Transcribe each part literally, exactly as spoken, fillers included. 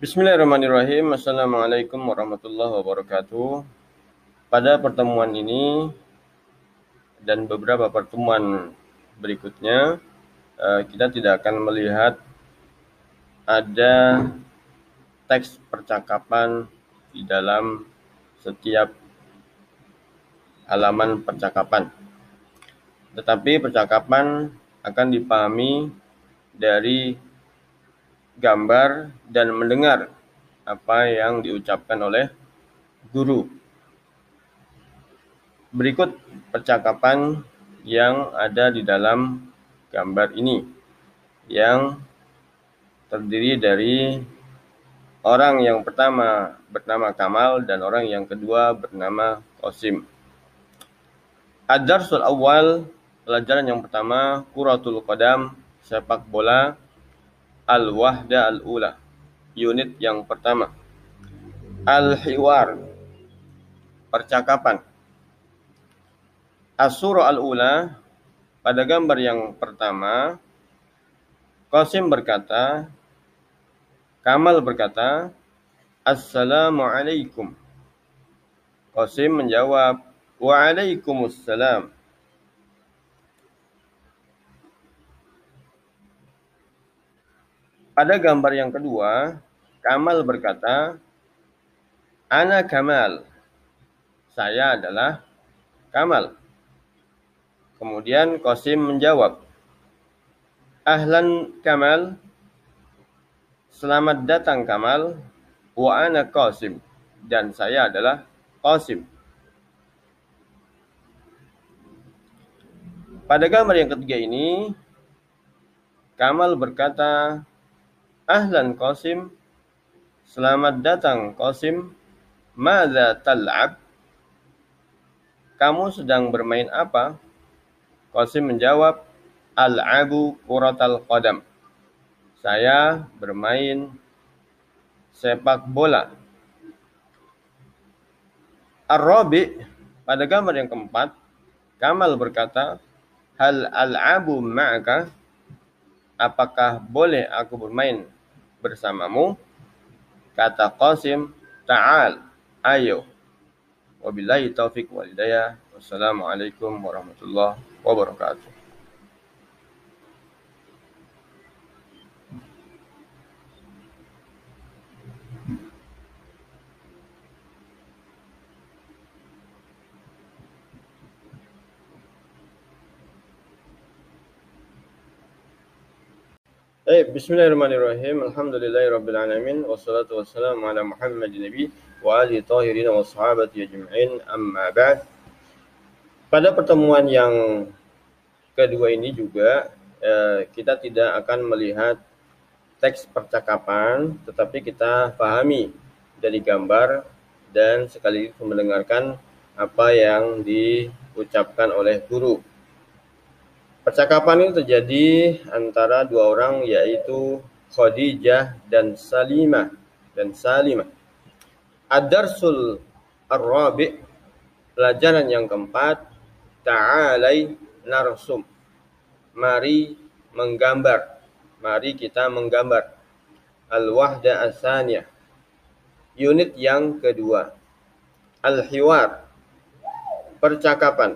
Bismillahirrahmanirrahim. Assalamualaikum warahmatullahi wabarakatuh. Pada pertemuan ini dan beberapa pertemuan berikutnya, kita tidak akan melihat ada teks percakapan di dalam setiap halaman percakapan. Tetapi percakapan akan dipahami dari gambar dan mendengar apa yang diucapkan oleh guru. Berikut percakapan yang ada di dalam gambar ini, yang terdiri dari orang yang pertama bernama Kamal dan orang yang kedua bernama Qasim. Ad-darsul awal, pelajaran yang pertama, kuratul qadam, sepak bola, al-wahda al-ula, unit yang pertama. Al-hiwar, percakapan. As-surah al-ula, pada gambar yang pertama, Qasim berkata, Kamal berkata, Assalamualaikum. Qasim menjawab, Waalaikumsalam. Pada gambar yang kedua, Kamal berkata, Ana Kamal. Saya adalah Kamal. Kemudian Qasim menjawab, Ahlan Kamal. Selamat datang Kamal. Wa ana Qasim. Dan saya adalah Qasim. Pada gambar yang ketiga ini, Kamal berkata, Ahlan Qasim. Selamat datang Qasim. Madza tal'ab? Kamu sedang bermain apa? Qasim menjawab, Al'abu kuratal qadam. Saya bermain sepak bola. Ar-rabi, pada gambar yang keempat, Kamal berkata, Hal al'abu ma'aka? Apakah boleh aku bermain bersamamu? Kata Qasim, Ta'al, ayo. Wabillahi taufiq wal hidayah. Wassalamualaikum warahmatullahi wabarakatuh. Eh, Bismillahirrahmanirrahim. Alhamdulillahirabbil alamin wassalatu wassalamu ala Muhammadin nabi wa alihi tahirin wa sahabati ajma'in. Amma ba'd. Pada pertemuan yang kedua ini juga eh, kita tidak akan melihat teks percakapan, tetapi kita pahami dari gambar dan sekaligus mendengarkan apa yang diucapkan oleh guru. Percakapan ini terjadi antara dua orang, yaitu Khadijah dan Salimah dan Salimah. Ad-darsul ar-rabi', pelajaran yang keempat, ta'alai narsum. Mari menggambar. Mari kita menggambar. Al-wahda as-saniyah, unit yang kedua. Al-hiwar, percakapan.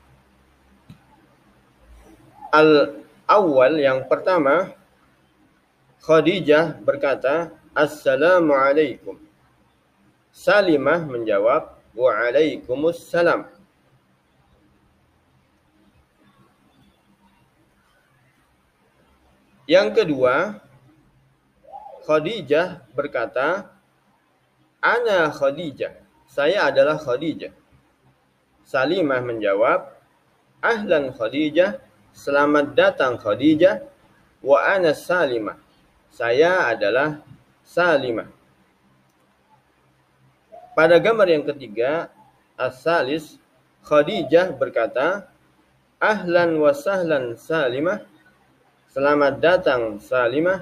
Al-awwal, yang pertama, Khadijah berkata, Assalamualaikum. Salimah menjawab, Waalaikumsalam. Yang kedua, Khadijah berkata, Ana Khadijah. Saya adalah Khadijah. Salimah menjawab, Ahlan Khadijah. Selamat datang Khadijah. Wa ana Salimah. Saya adalah Salimah. Pada gambar yang ketiga, as-salis, Khadijah berkata, Ahlan wa sahlan Salimah. Selamat datang Salimah.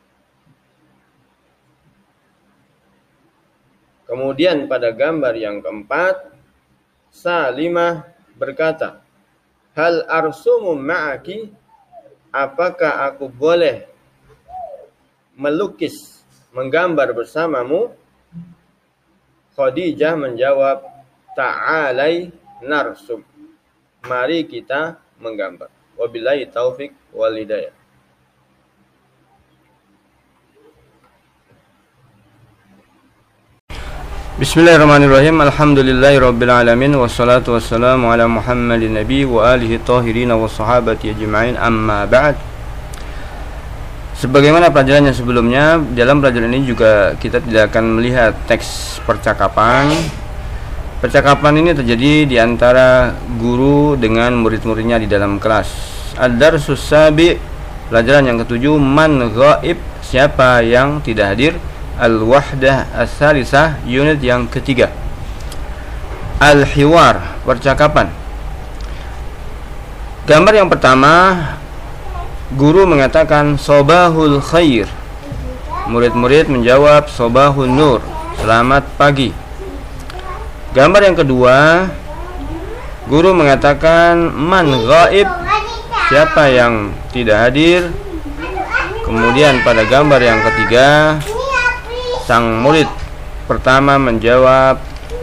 Kemudian pada gambar yang keempat, Salimah berkata, Hal arsumu ma'aki? Apakah aku boleh melukis menggambar bersamamu? Khadijah menjawab, ta'alai narsum. Mari kita menggambar. Wabillahi taufik wal hidayah. Bismillahirrahmanirrahim. Alhamdulillahirabbil alamin wassalatu wassalamu ala Muhammadin nabi wa alihi tahirin wa sahabati ajma'in, amma ba'd. Sebagaimana pelajaran yang sebelumnya, dalam pelajaran ini juga kita tidak akan melihat teks percakapan. Percakapan ini terjadi di antara guru dengan murid-muridnya di dalam kelas. Ad-darsus sabi, pelajaran yang ketujuh, man ghaib, siapa yang tidak hadir. Al-wahdah as-salisah, unit yang ketiga. Al-hiwar, percakapan. Gambar yang pertama, guru mengatakan sobahul khair. Murid-murid menjawab sobahul nur, selamat pagi. Gambar yang kedua, guru mengatakan man ghaib, siapa yang tidak hadir. Kemudian pada gambar yang ketiga, sang murid pertama menjawab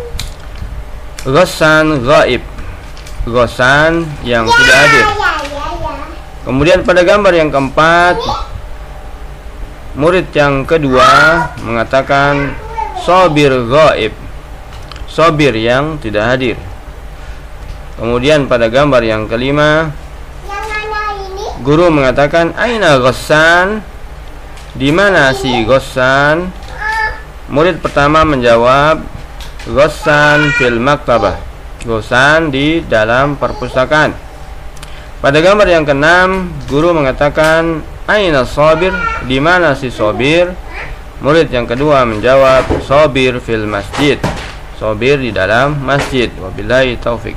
ghassan ghaib, ghassan yang tidak hadir. Kemudian pada gambar yang keempat, murid yang kedua mengatakan sobir ghaib, sobir yang tidak hadir. Kemudian pada gambar yang kelima, guru mengatakan aina ghassan, di mana si ghassan? Murid pertama menjawab ghassan fil maktabah, ghassan di dalam perpustakaan. Pada gambar yang keenam, guru mengatakan aina sabir, di mana si sabir? Murid yang kedua menjawab sabir fil masjid, sabir di dalam masjid. Wabillahi taufik.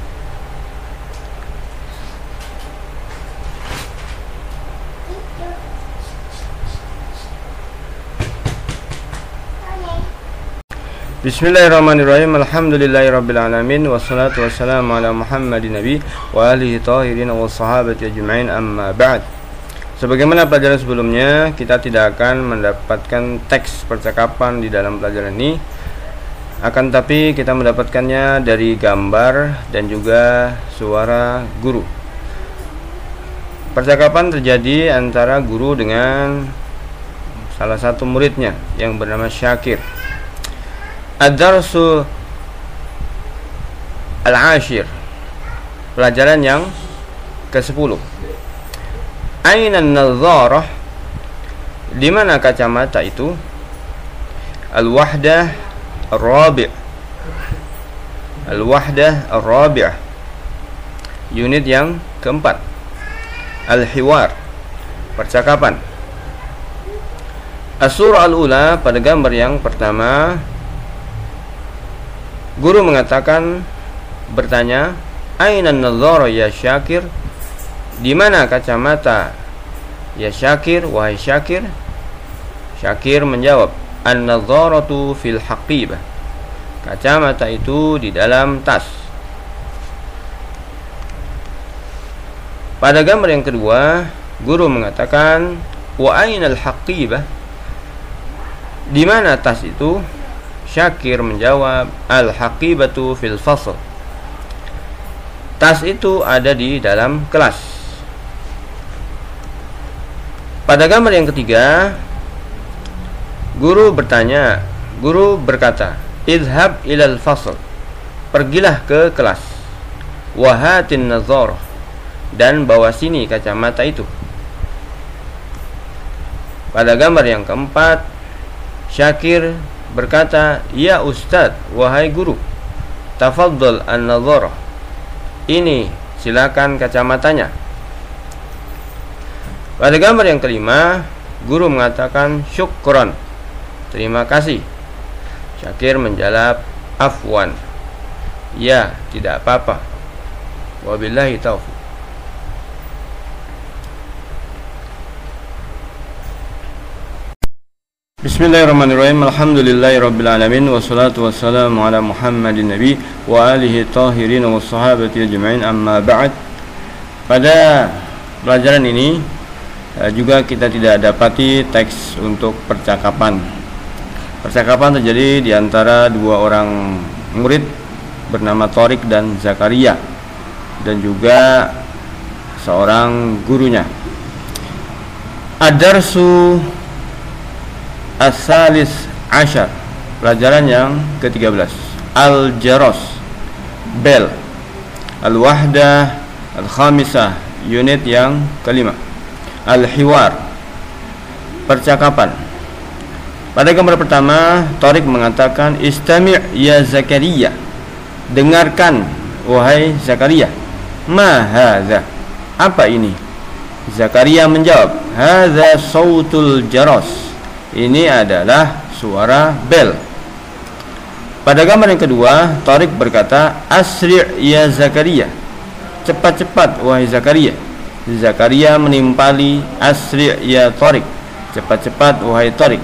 Bismillahirrahmanirrahim. Alhamdulillahirabbil alamin wassalatu wassalamu ala Muhammadin nabi wa alihi tahirin wa sahabati ajma'in, amma ba'd. Sebagaimana pelajaran sebelumnya, kita tidak akan mendapatkan teks percakapan di dalam pelajaran ini. Akan tapi kita mendapatkannya dari gambar dan juga suara guru. Percakapan terjadi antara guru dengan salah satu muridnya yang bernama Syakir. Ad-darsu al-ashir, pelajaran yang kesepuluh. Aina an-nadharah, di mana kacamata itu? Al-wahdah ar-rabi', al-wahdah ar-rabi'ah, unit yang keempat. Al-hiwar, percakapan. As-surah al-ula, pada gambar yang pertama, guru mengatakan, bertanya, aina an-nadhara ya Syakir, di mana kacamata ya Syakir, wahai Syakir? Syakir menjawab, an-nadharatu fil haqibah, kacamata itu di dalam tas. Pada gambar yang kedua, guru mengatakan, wa aina al-haqibah, di mana tas itu? Syakir menjawab, al-haqibatu fil fasl, tas itu ada di dalam kelas. Pada gambar yang ketiga, guru bertanya, guru berkata, idhab ilal fasl, pergilah ke kelas. Wahatin nazar, dan bawa sini kacamata itu. Pada gambar yang keempat, Syakir berkata, ya Ustadz, wahai guru, tafaddal an-nadharah, ini silakan kacamatanya. Pada gambar yang kelima, guru mengatakan syukron, terima kasih. Syakir menjawab afwan, ya tidak apa-apa. Wabillahi taufiq. Bismillahirrahmanirrahim. Alhamdulillahirabbil alamin wassalatu wassalamu ala Muhammadin nabi wa alihi tahirin wa sahabati ajma'in, amma ba'd. Pada pelajaran ini Juga kita tidak dapati teks untuk percakapan. Percakapan terjadi di antara dua orang murid bernama Thoriq dan Zakaria, dan juga seorang gurunya. Ad-darsu as-salis ashar, pelajaran yang ketiga belas. Al-jaros, bel. Al-wahdah al-khamisah, unit yang kelima. Al-hiwar, percakapan. Pada gambar pertama, Thoriq mengatakan, "Istami' ya Zakaria." Dengarkan wahai Zakaria. Ma hadza? Apa ini? Zakaria menjawab, "Hadza sautul jaros." Ini adalah suara bel. Pada gambar yang kedua, Thoriq berkata, "Asri' ya Zakaria." Cepat-cepat wahai Zakaria. Zakaria menimpali, "Asri' ya Thoriq." Cepat-cepat wahai Thoriq.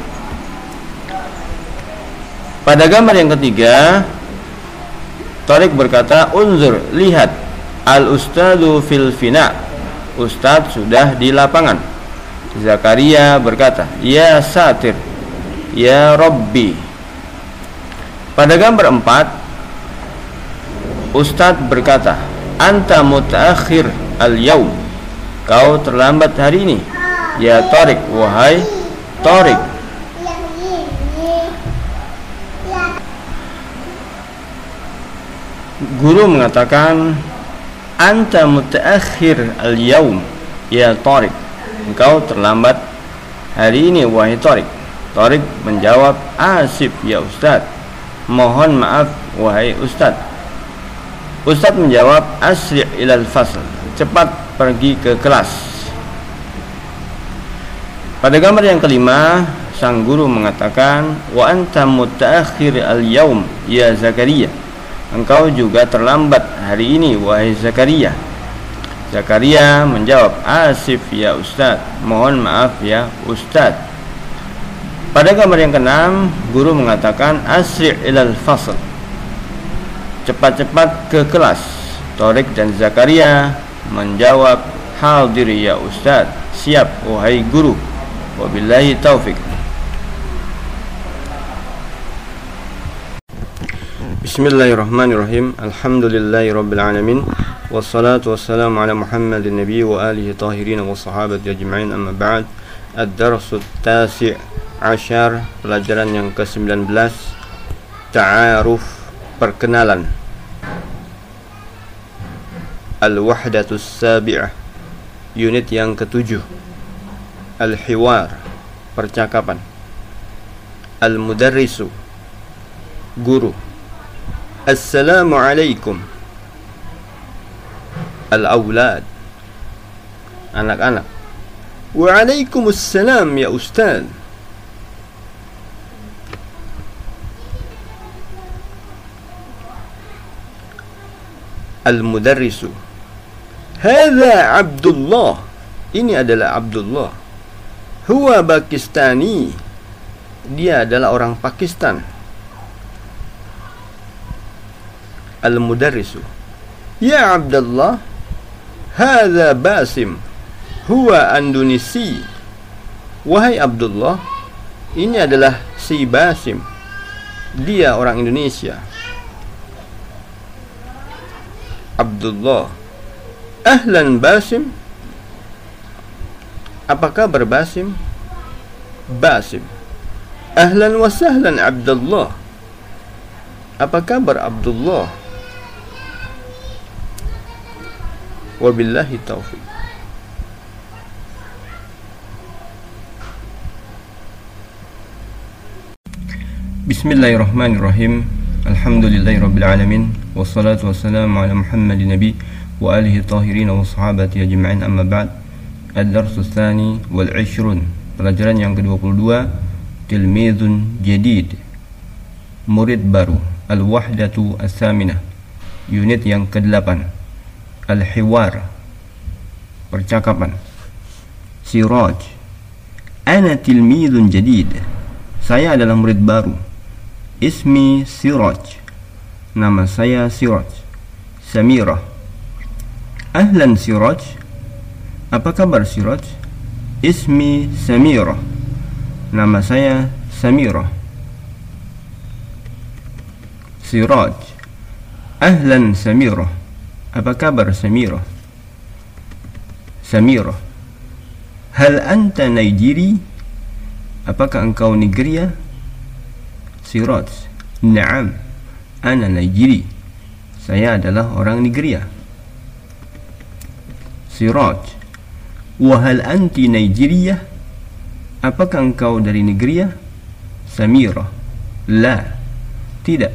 Pada gambar yang ketiga, Thoriq berkata, "Unzur, lihat, al-ustadu fil fina." Ustadz sudah di lapangan. Zakaria berkata, "Ya satir, ya Rabbi." Pada gambar empat, Ustadz berkata, "Anta mutaakhir al-yaum." Kau terlambat hari ini. Ya Thoriq, wahai Thoriq. Guru mengatakan, "Anta mutaakhir al-yaum ya Thoriq." Engkau terlambat hari ini wahai Thoriq. Thoriq menjawab, "Asif ya Ustaz." Mohon maaf wahai Ustaz. Ustaz menjawab, "Asri' ilal fasl." Cepat pergi ke kelas. Pada gambar yang kelima, sang guru mengatakan, "Wa anta mutaakhir al-yaum ya Zakaria." Engkau juga terlambat hari ini wahai Zakaria. Zakaria menjawab, "Asif ya Ustaz." Mohon maaf ya Ustaz. Pada gambar yang keenam, guru mengatakan, "Asri' ilal fasl." Cepat-cepat ke kelas. Thoriq dan Zakaria menjawab, "Hadir ya Ustaz." Siap wahai guru. Wabillahi taufik. Bismillahirrahmanirrahim. Alhamdulillahi rabbil alamin. Wassalatu wassalamu ala Muhammadin nabi wa alihi tahirin wa sahabati ajma'in, amma ba'd. Ad-darsu tasi' ashar, pelajaran yang ke sembilan belas. Ta'aruf, perkenalan. Al-wahdatus sabi'ah, unit yang ketujuh. Al-hiwar, percakapan. Al-mudarrisu, guru. Assalamualaikum. Al-awlad, anak-anak. Waalaikumsalam ya Ustaz. Al-mudarrisu, hadza Abdullah. Ini adalah Abdullah. Huwa Pakistani. Dia adalah orang Pakistan. Al-mudarrisu, ya Abdullah, hadza Basim. Huwa Indonesi. Wahai Abdullah, ini adalah si Basim. Dia orang Indonesia. Abdullah, ahlan Basim. Apa kabar Basim? Basim, ahlan wa sahlan Abdullah. Apa kabar Abdullah? Wabillahi taufiq. Bismillahirrahmanirrahim. Alhamdulillahi rabbil alamin. Wassalatu wassalamu ala Muhammadin nabi wa alihi tahirin wa sahabati ajma'in, amma ba'd. Ad-darsu tsani wal ishrun, pelajaran yang ke dua puluh dua. Tilmidun jadid, murid baru. Al-wahdatu as-saminah, unit yang ke delapan. Al-hiwar, percakapan. Siraj, ana tilmidun jadid. Saya adalah murid baru. Ismi Siraj, nama saya Siraj. Samirah, ahlan Siraj. Apa kabar Siraj? Ismi Samirah. Nama saya Samirah. Siraj. Ahlan Samirah. Apa kabar Samirah? Samirah. Hal anta Nigeri? Apakah engkau Nigeria? Siraj. Naam, ana Nigeri. Saya adalah orang Nigeria. Siraj. Wa hal anti Nigeria? Apakah engkau dari Nigeria? Samirah. La, tidak.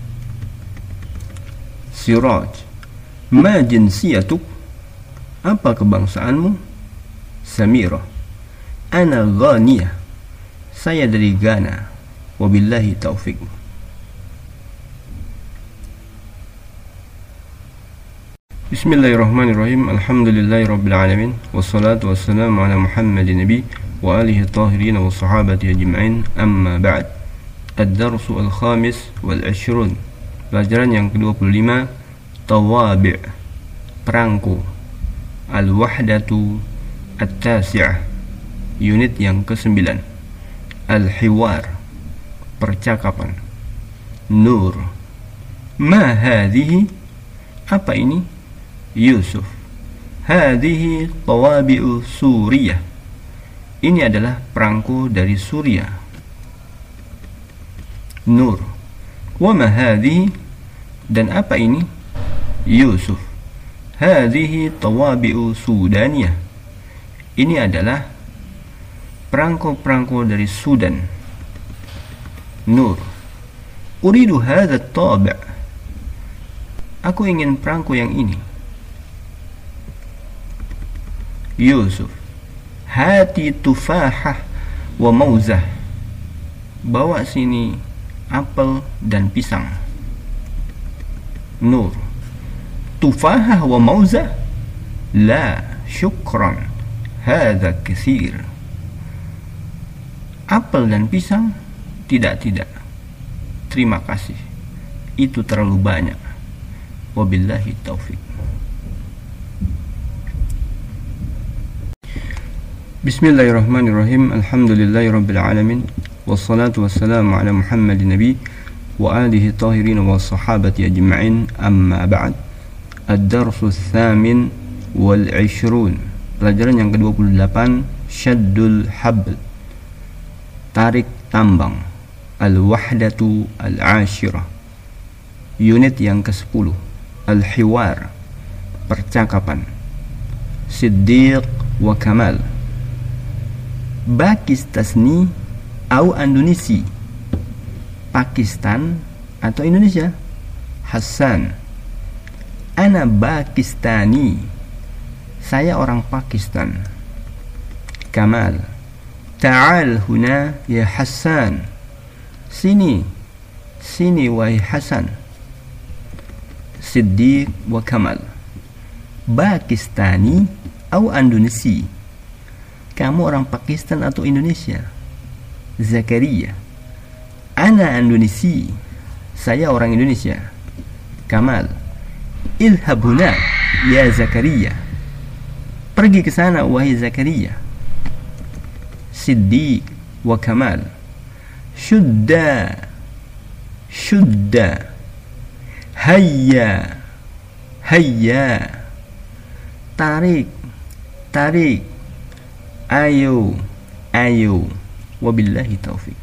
Siraj. Ma jinsiyatuk? Apa kebangsaanmu? Samirah. Ana Ghaniyah. Saya dari Ghana. Wabillahi taufiq. Bismillahirrahmanirrahim. Alhamdulillahi rabbil alamin. Wassalatu wassalamu ala Muhammadin nabi wa alihi tahirin wa sahabati ajma'in. Amma ba'd. Ad-darsu al-khamis wal ashrun. Pelajaran yang kedua puluh lima. Tawabi', perangko. Al-wahdatu at-tasi'ah, unit yang kesembilan. Al-hiwar, percakapan. Nur. Ma hadhihi? Apa ini? Yusuf. Hadhihi tawabi'u Suriah. Ini adalah perangko dari Suriah. Nur. Wa ma hadhihi? Dan apa ini? Yusuf. Hadhihi tawabi'u Sudaniyah. Ini adalah perangko-perangko dari Sudan. Nur. Uridu hadha tabi'. Aku ingin perangko yang ini. Yusuf. Hati tufahah wa mauzah. Bawa sini apel dan pisang. Nur. Tufahah wa mauzah? La, syukran. Hadha kathir. Apel dan pisang? Tidak, tidak. Terima kasih. Itu terlalu banyak. Wabillahi taufiq. Bismillahirrahmanirrahim. Alhamdulillahi rabbil alamin. Wassalatu wassalamu ala Muhammadin nabi wa alihi tahirin wa sahabati ajma'in. Amma ba'd. Ad-darsu tsamin wal ishrun. Pelajaran yang kedua puluh delapan. Syaddul habl, tarik tambang. Al-wahdatu al-ashirah, unit yang kesepuluh. Al-hiwar, percakapan. Siddiq wa Kamal. Pakistasni atau Indonesi? Pakistan atau Indonesia? Hasan. Ana Pakistani. Saya orang Pakistan. Kamal. Ta'al huna ya Hasan. Sini, sini wahai Hasan. Siddiq wa Kamal. Pakistani atau Indonesi? Kamu orang Pakistan atau Indonesia? Zakaria. Ana Indonesi. Saya orang Indonesia. Kamal. Ilhab huna ya Zakaria. Pergi ke sana wahai Zakaria. Siddiq wa Kamal. Shudda, shudda. Hayya, hayya. Tarik, tarik. Ayo, ayo. Wabillahi taufiq.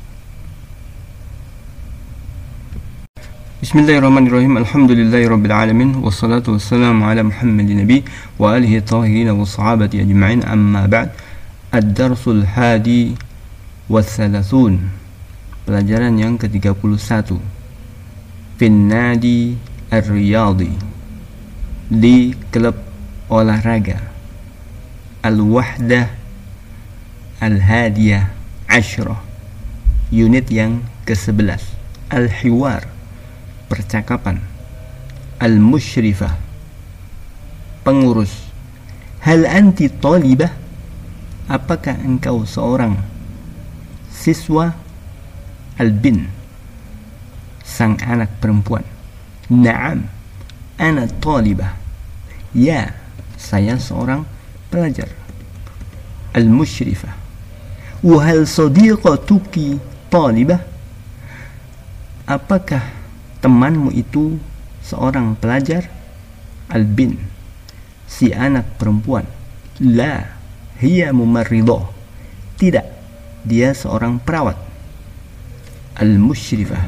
Bismillahirrahmanirrahim. Alhamdulillahi rabbil alamin. Wassalatu wassalamu ala Muhammadin nabi wa alihi tahirin wa sahabati ajma'in. Amma ba'd. Ad-darsul hadi wa thalathun. Pelajaran yang ke tiga puluh satu. Finnadi ar-riyadi, di klub olahraga. Al-wahdah al-hadiyah ashrah, unit yang ke sebelas. Al-hiwar, percakapan. Al-musyrifah, pengurus. Hal anti talibah? Apakah engkau seorang siswa? Al-bin, sang anak perempuan. Naam, ana talibah. Ya, saya seorang pelajar. المشرفة. وهل صديقتك طالبة? Apakah temanmu itu seorang pelajar? Al-bin, si anak perempuan. La, hiya mumarridah. Tidak, dia seorang perawat. Al-musyrifah.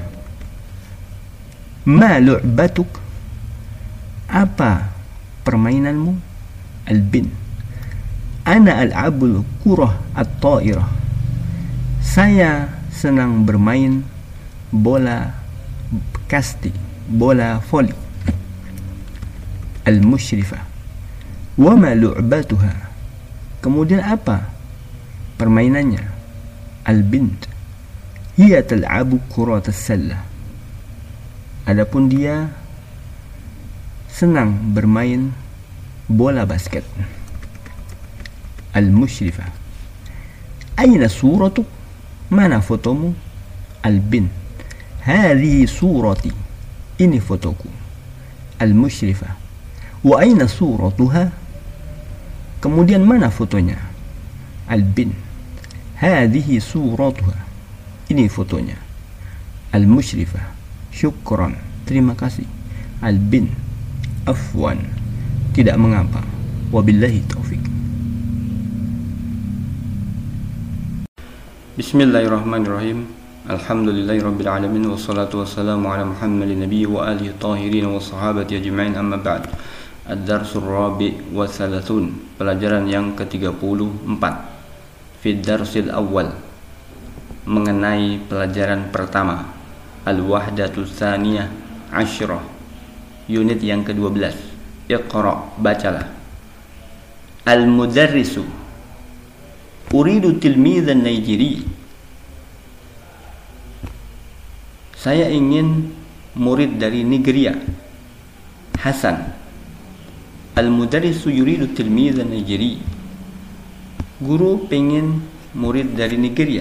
Ma lu'batuk? Apa permainanmu? Al-bin, ana al'abul kurah at-ta'irah. Saya senang bermain bola kasti, bola voli. Al-musyrifah. Wa ma lu'batuha? Kemudian apa permainannya? Al-bint, hiya tal'abu kurat as-sallah. Adapun dia senang bermain bola basket. Al-musyrifah. Aina suratuk? Mana fotomu? Al-bin, hadhihi surati. Ini fotoku. Al-musyrifah. Wa aina suratuha? Kemudian mana fotonya? Al-bin, hadhihi suratuha. Ini fotonya. Al-musyrifah. Syukran, terima kasih. Al-bin, afwan, tidak mengapa. Wabillahi taufik. Bismillahirrahmanirrahim. Alhamdulillahirabbil alamin wassalatu wassalamu ala Muhammadin nabiyyi wa alihi tahirin wa sahabati ajma'in, amma ba'd. Ad-darsul rabi' wa thalathun, pelajaran yang ke tiga puluh empat. Fi darsil awal, mengenai pelajaran pertama. Al-wahdatu tsaniyah asyrah, unit yang ke dua belas. Iqra, bacalah. Al-mudarrisu, uridu tilmizan Naijiri. Saya ingin murid dari Nigeria. Hasan. Al-mudarrisu yuridu tilmizan Naijiri. Guru pengen murid dari Nigeria.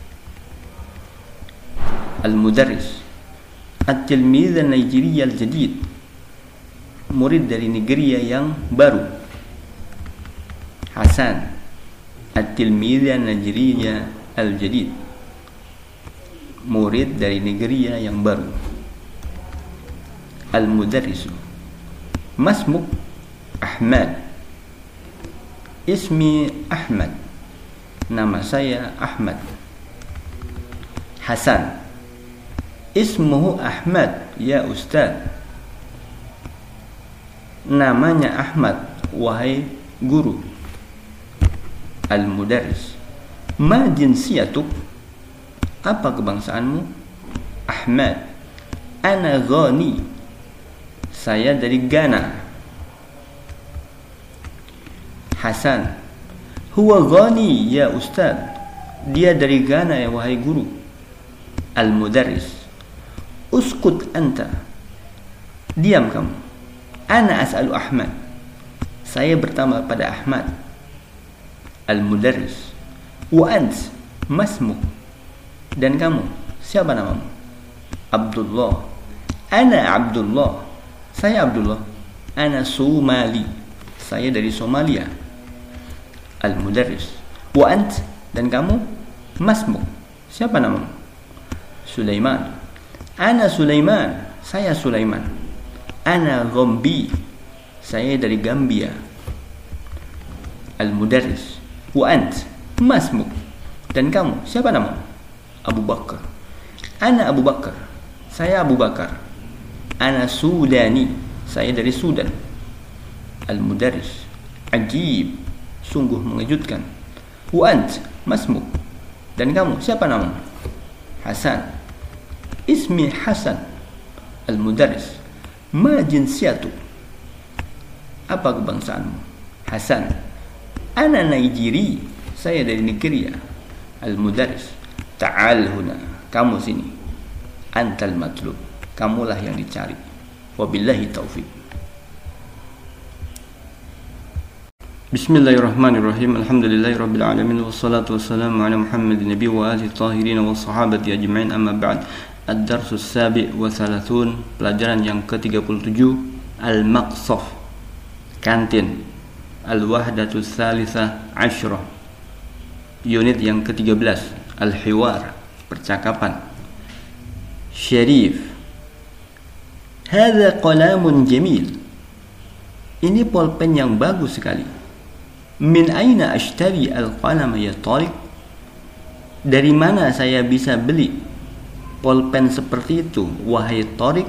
Al-mudarris. At-tilmizan Naijiri al-jadid, murid dari Nigeria yang baru. Hasan. At-tilmizan Naijiri al-jadid, murid dari Nigeria yang baru. Al-mudarrisu. Masmuk? Ahmad. Ismi Ahmad, nama saya Ahmad. Hasan. Ismuhu Ahmad ya Ustaz. Namanya Ahmad wahai guru. Al-mudarris. Ma jinsiyatuk? Apa kebangsaanmu? Ahmad. Ana Ghani. Saya dari Ghana. Hasan. Huwa Ghani ya Ustaz. Dia dari Ghana ya wahai guru. Al-mudarris. Uskut anta. Diam kamu. Ana as'alu Ahmad. Saya bertanya pada Ahmad. Al-mudarris. Wa ant masmuk? Dan kamu, siapa namamu? Abdullah. Ana Abdullah. Saya Abdullah. Ana Somali. Saya dari Somalia. Al-mudarris. Wa ant? Dan kamu? Masmuk? Siapa namamu? Sulaiman. Ana Sulaiman. Saya Sulaiman. Ana Ghambi. Saya dari Gambia. Al-mudarris. Wa ant? Masmuk? Dan kamu, siapa namamu? Abu Bakar. Ana Abu Bakar. Saya Abu Bakar. Ana Sudani. Saya dari Sudan. Al-mudarris. Ajib, sungguh mengejutkan. Wa ant? Masmuk? Dan kamu, siapa namamu? Hasan. Ismi Hasan. Al-mudarris. Ma jinsiyatuk? Apa kebangsaanmu? Hasan. Ana Naijiri. Saya dari Nigeria. Al-mudarris. Ta'al huna. Kamu sini. Antal matlub. Kamulah yang dicari. Wabillahi taufik. Bismillahirrahmanirrahim. Alhamdulillahirabbil alamin wassalatu wassalamu ala Muhammadin nabiyyi wa alihi tahirin wa sahabati ajma'in, amma ba'd. Ad-darsus sabi' wa thalathun, pelajaran yang ke tiga puluh tujuh. Al-maqsaf, kantin. Al-wahdatu tsalitsah asyrah, unit yang ketiga belas, al-hiwar, percakapan. Syarif, hadza qalamun jamil, ini pulpen yang bagus sekali. Min aina ashtari al-qalama ya Tariq, dari mana saya bisa beli pulpen seperti itu wahai Tariq?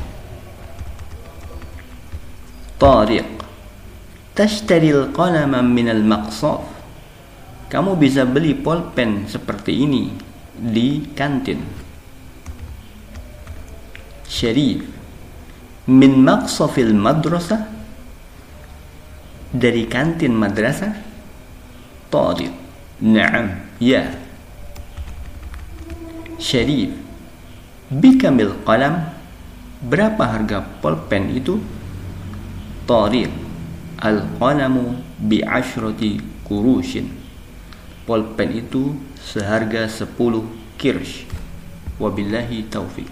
Tariq, tashtari al-qalama min al-maqsaf, kamu bisa beli pulpen seperti ini di kantin. Syarif, min maqsafil madrasah, dari kantin madrasah. Tariq, na'am, ya. Syarif, bikamil qalam, berapa harga pulpen itu? Tariq, al-qalamu bi'ashrati kurushin, pulpen itu seharga sepuluh kirsh. Wabillahi taufiq.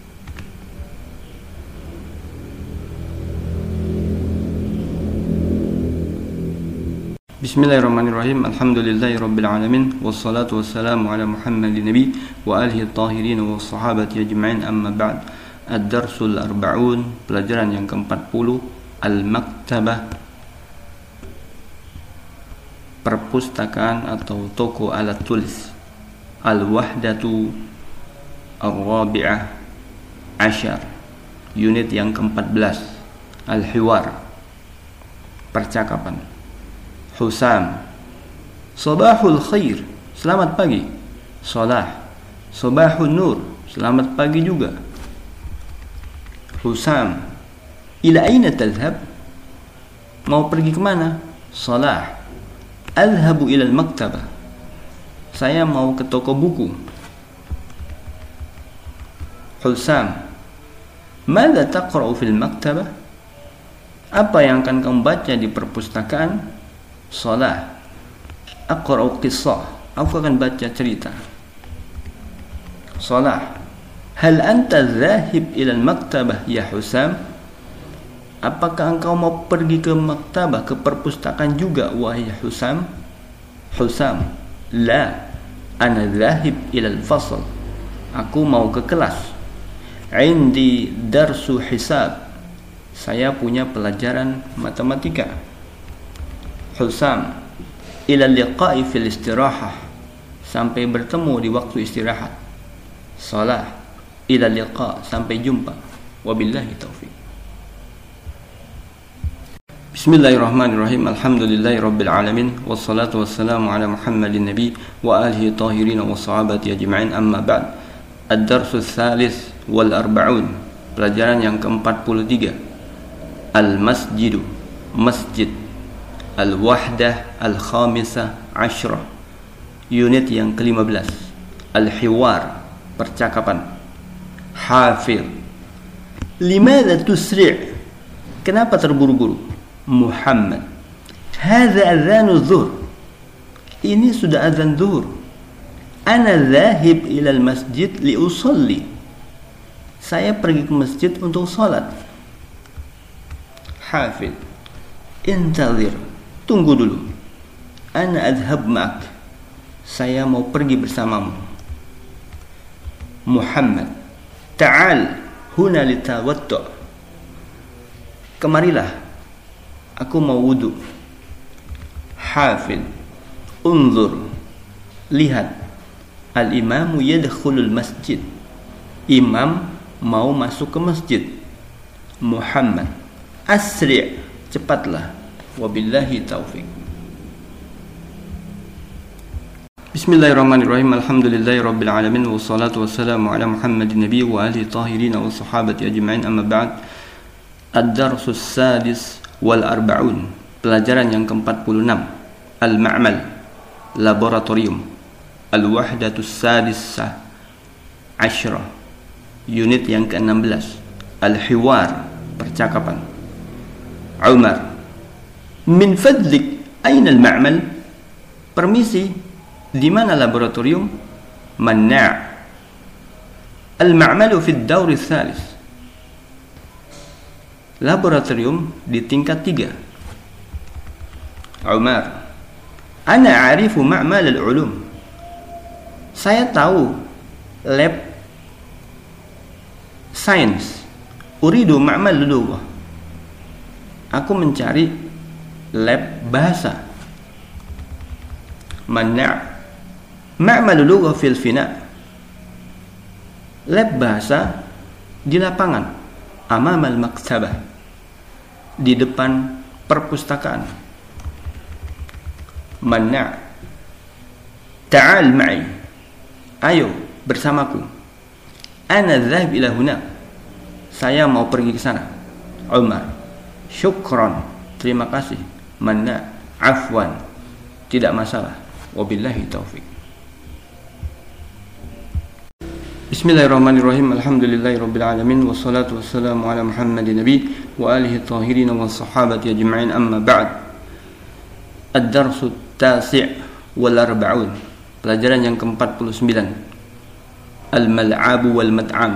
Bismillahirrahmanirrahim. Alhamdulillahi rabbil alamin, wassalatu wassalamu ala Muhammadin nabi wa alihi tahirin wa sahabati ajma'in, amma ba'd. Ad-darsul arba'un, pelajaran yang keempat puluh, al-maktabah, perpustakaan atau toko alat tulis. Al-wahdatu ar-rabi'ah asyar, unit yang keempat belas, al-hiwar, percakapan. Husam, sabahul khair, selamat pagi. Salah, sabahun nur, selamat pagi juga. Husam, ila aina tadhhab, mau pergi kemana? Salah, adhabu ila al-maktabah, saya mau ke toko buku. Husam, madza taqra'u fil maktabah, apa yang akan kamu baca di perpustakaan? Salah, aqra'u qissah, aku akan baca cerita. Salah, hal anta dhahib ila al-maktabah ya Husam, apakah engkau mau pergi ke maktabah, ke perpustakaan juga wahai Husam? Husam, la, ana dhahib ila al-fasl, aku mau ke kelas. Indi darsu hisab, saya punya pelajaran matematika. Husam, ila liqa'i fil istirahah, sampai bertemu di waktu istirahat. Salah, ila liqa', sampai jumpa. Wabillahi taufiq. Bismillahirrahmanirrahim. Alhamdulillahi rabbil alamin, wassalatu wassalamu ala Muhammadin nabi wa alihi tahirin wa sahabati ajma'in, amma ba'd. Ad-darsu tsalis wal arba'un, pelajaran yang ke-empat puluh tiga, al-masjidu, masjid. Al-wahdah al-khamisah ashrah, unit yang kelima belas, al-hiwar, percakapan. Hafir, limadha tusri', kenapa terburu-buru? Muhammad, hadza adzanu dhuhr, ini sudah azan zuhur. Ana dhahib ila al-masjid li usalli, saya pergi ke masjid untuk salat. Hafid, intazir, tunggu dulu. Ana adhab ma'ak, saya mau pergi bersamamu. Muhammad, ta'al huna litawaddu, kemarilah, aku mau wudu. Hafid, unzur, lihat, al-imamu yadkhulul masjid, imam mau masuk ke masjid. Muhammad, asri', cepatlah. Wabillahi taufiq. Bismillahirrahmanirrahim. Alhamdulillahi rabbil alamin, wassalatu wassalamu ala Muhammadin nabi wa alihi tahirin wa sahabati ajma'in, amma ba'd. Ad-darsu sadis wal arba'un, pelajaran yang ke-empat puluh enam, al-ma'mal, laboratorium. Al-wahdatu sadisah asyrah, unit yang ke-enam belas, al-hiwar, percakapan. Umar, min fadlik aina al-ma'mal, permisi, di mana laboratorium? Manna', al-ma'malu fi ad-dawr ats-tsalits, laboratorium di tingkat tiga. Umar, Ana a'rifu ma'mal al-ulum. Saya tahu lab sains. Uridu ma'mal lughah. Aku mencari lab bahasa. Mana' ma'mal lughah fil fina. Lab bahasa di lapangan, amamal maktabah, di depan perpustakaan. Mana' ta'al ma'i, ayo bersamaku. Ana dhahib ila huna, saya mau pergi ke sana. Umar, syukran, terima kasih. Mana' afwan, tidak masalah. Wabillahi taufiq. Bismillahirrahmanirrahim. Alhamdulillahirabbil alamin wassalatu wassalamu ala Muhammadin nabi wa alihi tahirin wa sahabati ajma'in, amma ba'd. Ad-darsu at-tasi' wal arba'un. Pelajaran yang ke-empat puluh sembilan. Al-mal'abu wal mat'am.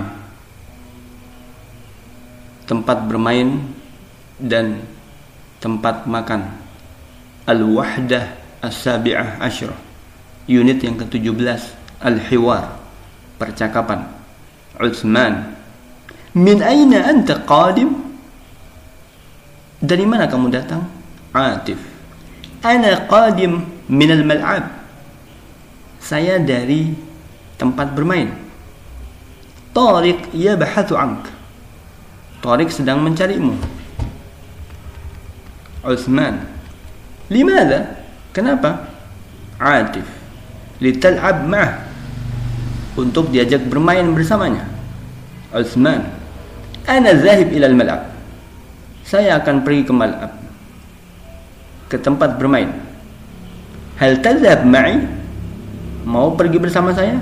Tempat bermain dan tempat makan. Al-wahdah as-sabi'ah asyrah. Unit yang ke-tujuh belas. Al-hiwar, percakapan. Utsman, min aina anta qadim? Dari mana kamu datang? Atif, ana qadim min al-mal'ab. Saya dari tempat bermain. Tariq yabhathu ank. Tariq sedang mencarimu. Utsman, limadha? Kenapa? Atif, lital'ab ma'ah, untuk diajak bermain bersamanya. Utsman, ana zahib ila al-mal'ab. Saya akan pergi ke mal'ab, ke tempat bermain. Hal tadhhab ma'i? Mau pergi bersama saya?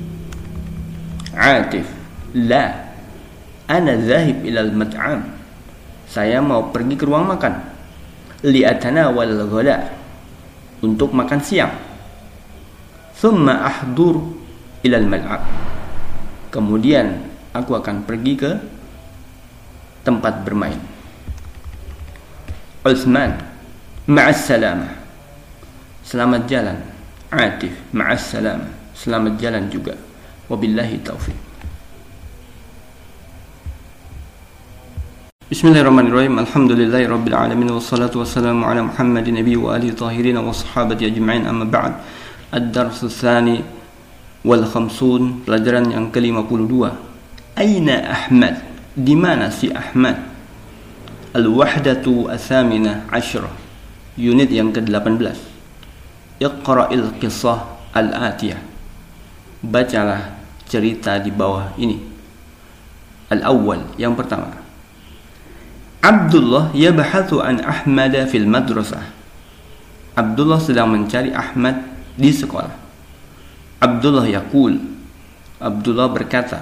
Atif, la, ana zahib ila al-mat'am. Saya mau pergi ke ruang makan. Li'atanawal al-ghada, untuk makan siang. Thumma ahdur ila al-mal'ab, kemudian aku akan pergi ke tempat bermain. Utsman, ma'as salamah, selamat jalan. Atif, ma'as salamah, selamat jalan juga. Wabillahi taufiq. Bismillahirrahmanirrahim. Alhamdulillahirabbil alamin wassalatu wassalamu ala Muhammadin nabi wa alihi tahirin wa sahabati ajma'in, amma ba'd. Ad-darsu tsani wal khamsun, pelajaran yang ke lima puluh dua. Aina Ahmad? Di mana si Ahmad? Al-wahdatu ats-tsaminah asyrah, unit yang ke delapan belas. Iqra'il qissah al-atiyah. Bacalah cerita di bawah ini. Al-awwal, yang pertama. Abdullah yabhathu an Ahmad fil madrasah. Abdullah sedang mencari Ahmad di sekolah. Abdullah yaqul, Abdullah berkata,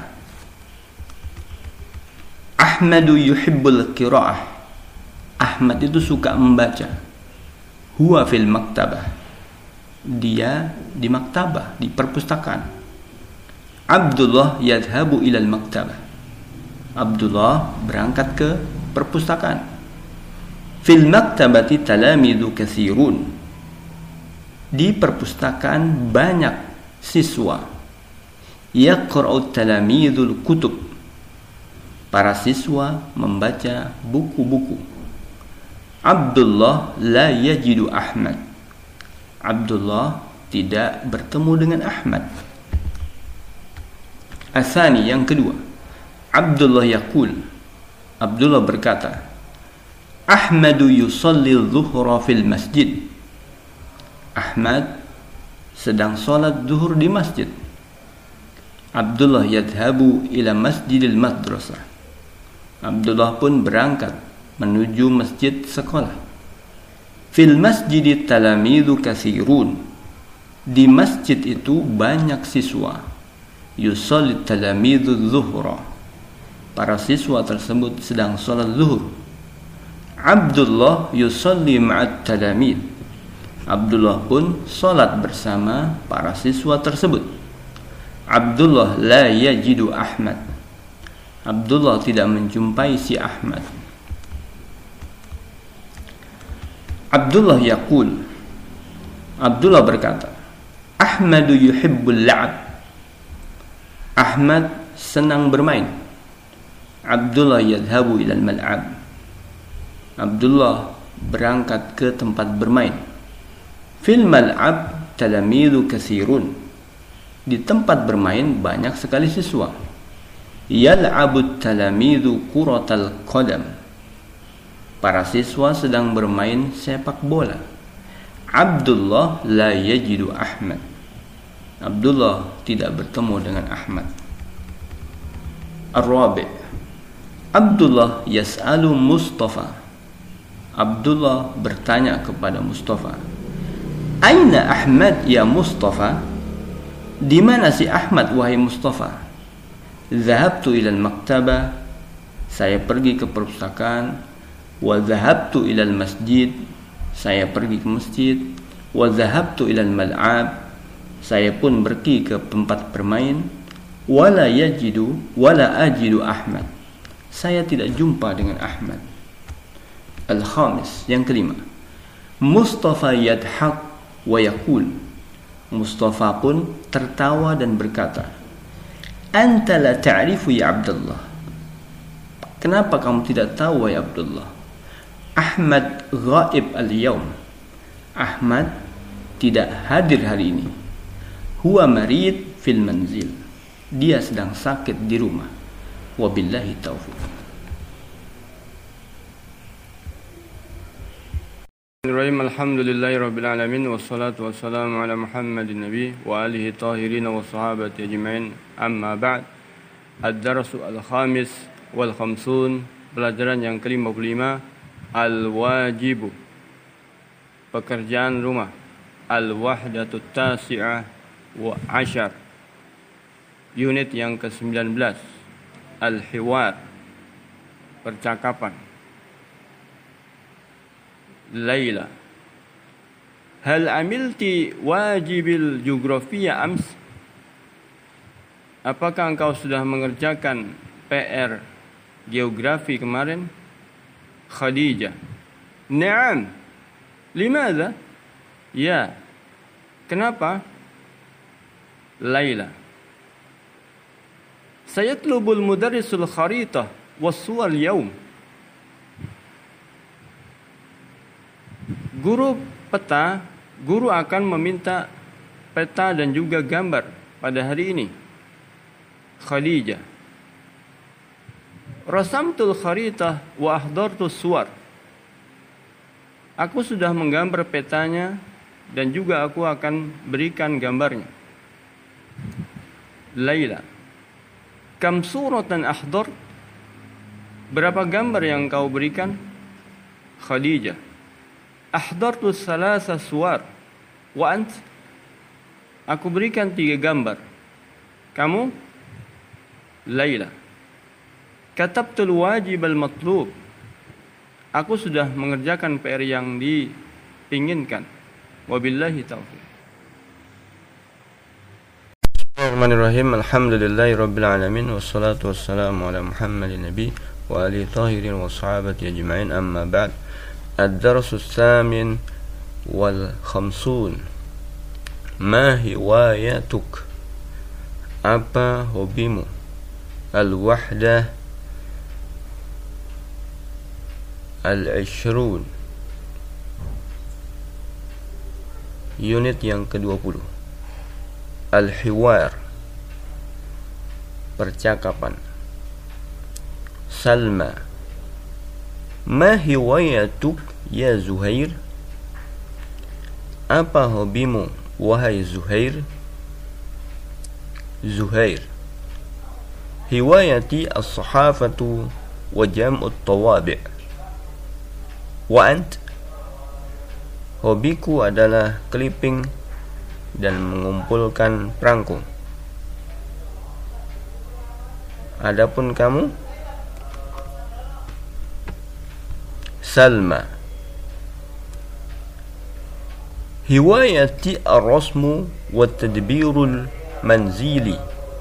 Ahmadu yuhibbul qira'ah. Ahmad itu suka membaca. Huwa fil maktabah. Dia di maktabah, di perpustakaan. Abdullah yadhabu ilal maktabah. Abdullah berangkat ke perpustakaan. Fil maktabati talamidu katsirun. Di perpustakaan banyak siswa. Yaqra'u talamidul kutub. Para siswa membaca buku-buku. Abdullah la yajidu Ahmad. Abdullah tidak bertemu dengan Ahmad. Asani, yang kedua. Abdullah yaqul, Abdullah berkata, Ahmadu yusalli dhuhra fil masjid. Ahmad sedang salat zuhur di masjid. Abdullah yadhabu ila masjidil madrasah. Abdullah pun berangkat menuju masjid sekolah. Fil masjid talamidu katsirun. Di masjid itu banyak siswa. Yusalli talamidu zuhra. Para siswa tersebut sedang salat zuhur. Abdullah yusalli ma'at talamid. Abdullah pun salat bersama para siswa tersebut. Abdullah la yajidu Ahmad. Abdullah tidak menjumpai si Ahmad. Abdullah yaqul, Abdullah berkata, Ahmadu yuhibbul la'ab. Ahmad senang bermain. Abdullah yadhabu ilal mal'ab. Abdullah berangkat ke tempat bermain. Fil mal'ab talamidu katsirun. Di tempat bermain banyak sekali siswa. Yal'abut talamidu kuratal qadam. Para siswa sedang bermain sepak bola. Abdullah la yajidu Ahmad. Abdullah tidak bertemu dengan Ahmad. Ar-Rabi'. Abdullah yas'alu Mustafa. Abdullah bertanya kepada Mustafa, Aina Ahmad ya Mustafa? Di mana si Ahmad wahai Mustafa? Zahabtu ilal maktabah. Saya pergi ke perpustakaan. Wa zahabtu ilal masjid. Saya pergi ke masjid. Wa zahabtu ilal mal'ab. Saya pun pergi ke tempat bermain. Wala yajidu wala ajidu Ahmad. Saya tidak jumpa dengan Ahmad. Al-khamis, yang kelima. Mustafa yadhaq wa yaqul. Mustafa pun tertawa dan berkata, Anta la ta'rifu ya Abdullah. Kenapa kamu tidak tahu ya Abdullah? Ahmad ghaib al-yawm. Ahmad tidak hadir hari ini. Huwa marid fil manzil. Dia sedang sakit di rumah. Wabillahi taufiq. Alhamdulillahi rabbil alamin. Wassalatu wassalamu ala Muhammadin nabi wa alihi tahirin wa sahabati ajma'in. Amma ba'd. Ad-darsu al-khamis wal khamsun. Pelajaran yang ke lima puluh lima. Al-wajibu. Pekerjaan rumah. Al-wahdatu tasi'ah wa ashar. Unit yang ke sembilan belas. Al-hiwar. Percakapan. Laila. Hal amilti wajibil geografia ams? Apakah engkau sudah mengerjakan P R geografi kemarin? Khadijah. Naam. Limadha? Ya. Kenapa? Laila. Sayatlubul mudarrisul kharitah was-suwar al-yawm. Guru peta, guru akan meminta peta dan juga gambar pada hari ini. Khadijah. Rasamtul kharitah wa ahdartus suwar. Aku sudah menggambar petanya dan juga aku akan berikan gambarnya. Laila. Kam suratan ahdar? Berapa gambar yang kau berikan? Khadijah. Ahdartu salasa suwar. Wa ant? Aku berikan tiga gambar. Kamu? Laila. Katabtul wajib al-matlub. Aku sudah mengerjakan P R yang diinginkan. Wabillahi taufiq. Bismillahirrahmanirrahim. Alhamdulillahi rabbil alamin. Wassalatu wassalamu ala Muhammadin nabi wa alihi tahirin wa sahabati ajma'in. Amma ba'd. Ad-darsu tsamin wal khamsun. Ma hiwayatuk? Apa hobimu? Al-wahdah al-ishrun. Unit yang ke dua puluh. Al-hiwar. Percakapan. Salma. Ma hiwayatuk ya Zuhair? Apa hobimu wahai Zuhair? Zuhair. Hiwayati as-sahafatu wa jam'ut tawabi'. Wa ant? Hobiku adalah clipping dan mengumpulkan perangko. Adapun kamu? Salma. Hiwayati ar-rasmu wa tadbirul manzili.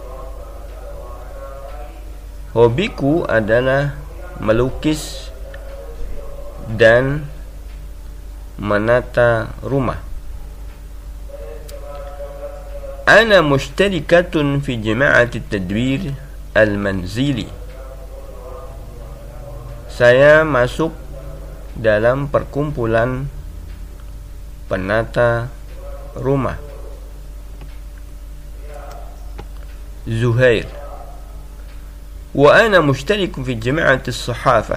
Hobiku adalah melukis dan menata rumah. Ana mushtarikatun fi jama'ati tadbir al-manzili. Saya masuk dalam perkumpulan penata rumah. Zuhair. Wa ana mushtarikun fi jama'ati as-sahafah.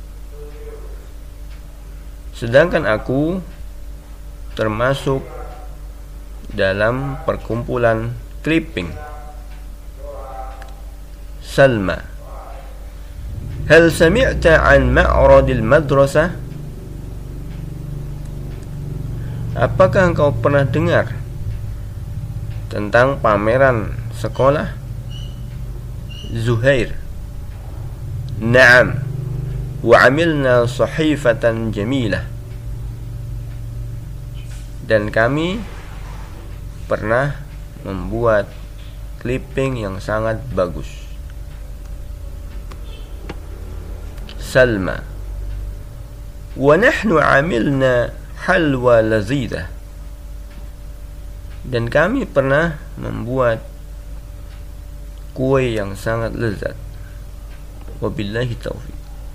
Sedangkan aku termasuk dalam perkumpulan clipping. Salma. Hal sami'ta an ma'radil madrasah? Apakah engkau pernah dengar tentang pameran sekolah? Zuhair. Naam. Wa amilna sahifatan jamilah. Dan kami pernah membuat clipping yang sangat bagus. Salma. Wa nahnu amilna halwa lazidah. Dan kami pernah membuat kue yang sangat lezat. Wabillahi taufiq.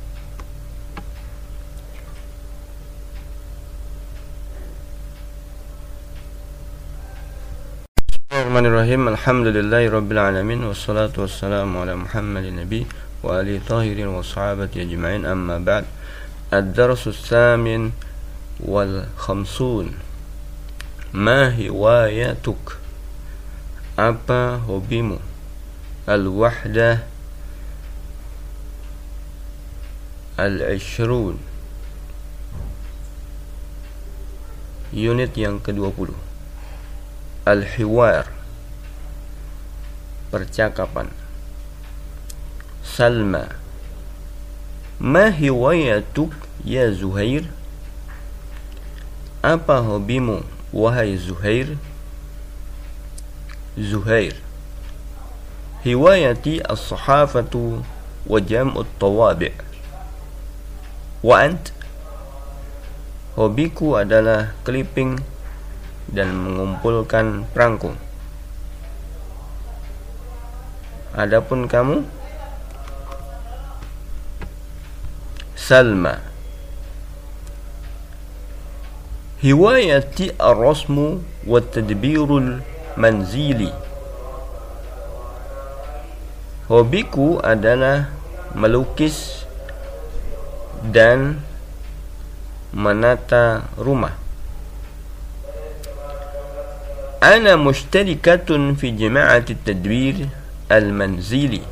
Bismillahirrahmanirrahim. Alhamdulillahi rabbil alamin. Wassalatu wassalamu ala Muhammadin nabi wa alihi tahirin wa sahabati ajma'in, amma ba'd. Ad-darsu tsamin wal khamsun. Ma hiwayatuk? Apa hobimu? Al-wahdah Al-ishrun. Unit yang kedua puluh. Al-hiwar, percakapan. Salma. Ma hiwayatuk ya Zuhair? Apa hobimu wahai Zuhair? Zuhair. Hiwayati as-sahafatu wa jam'ut tawabi'. Wa ant? Hobiku adalah clipping dan mengumpulkan perangko. Adapun kamu? Salma. Hiwayati ar-rasmu wa tadbirul manzili. Hobiku adalah melukis dan menata rumah. Ana mushtarikatun fi jama'ati tadbir al-manzili.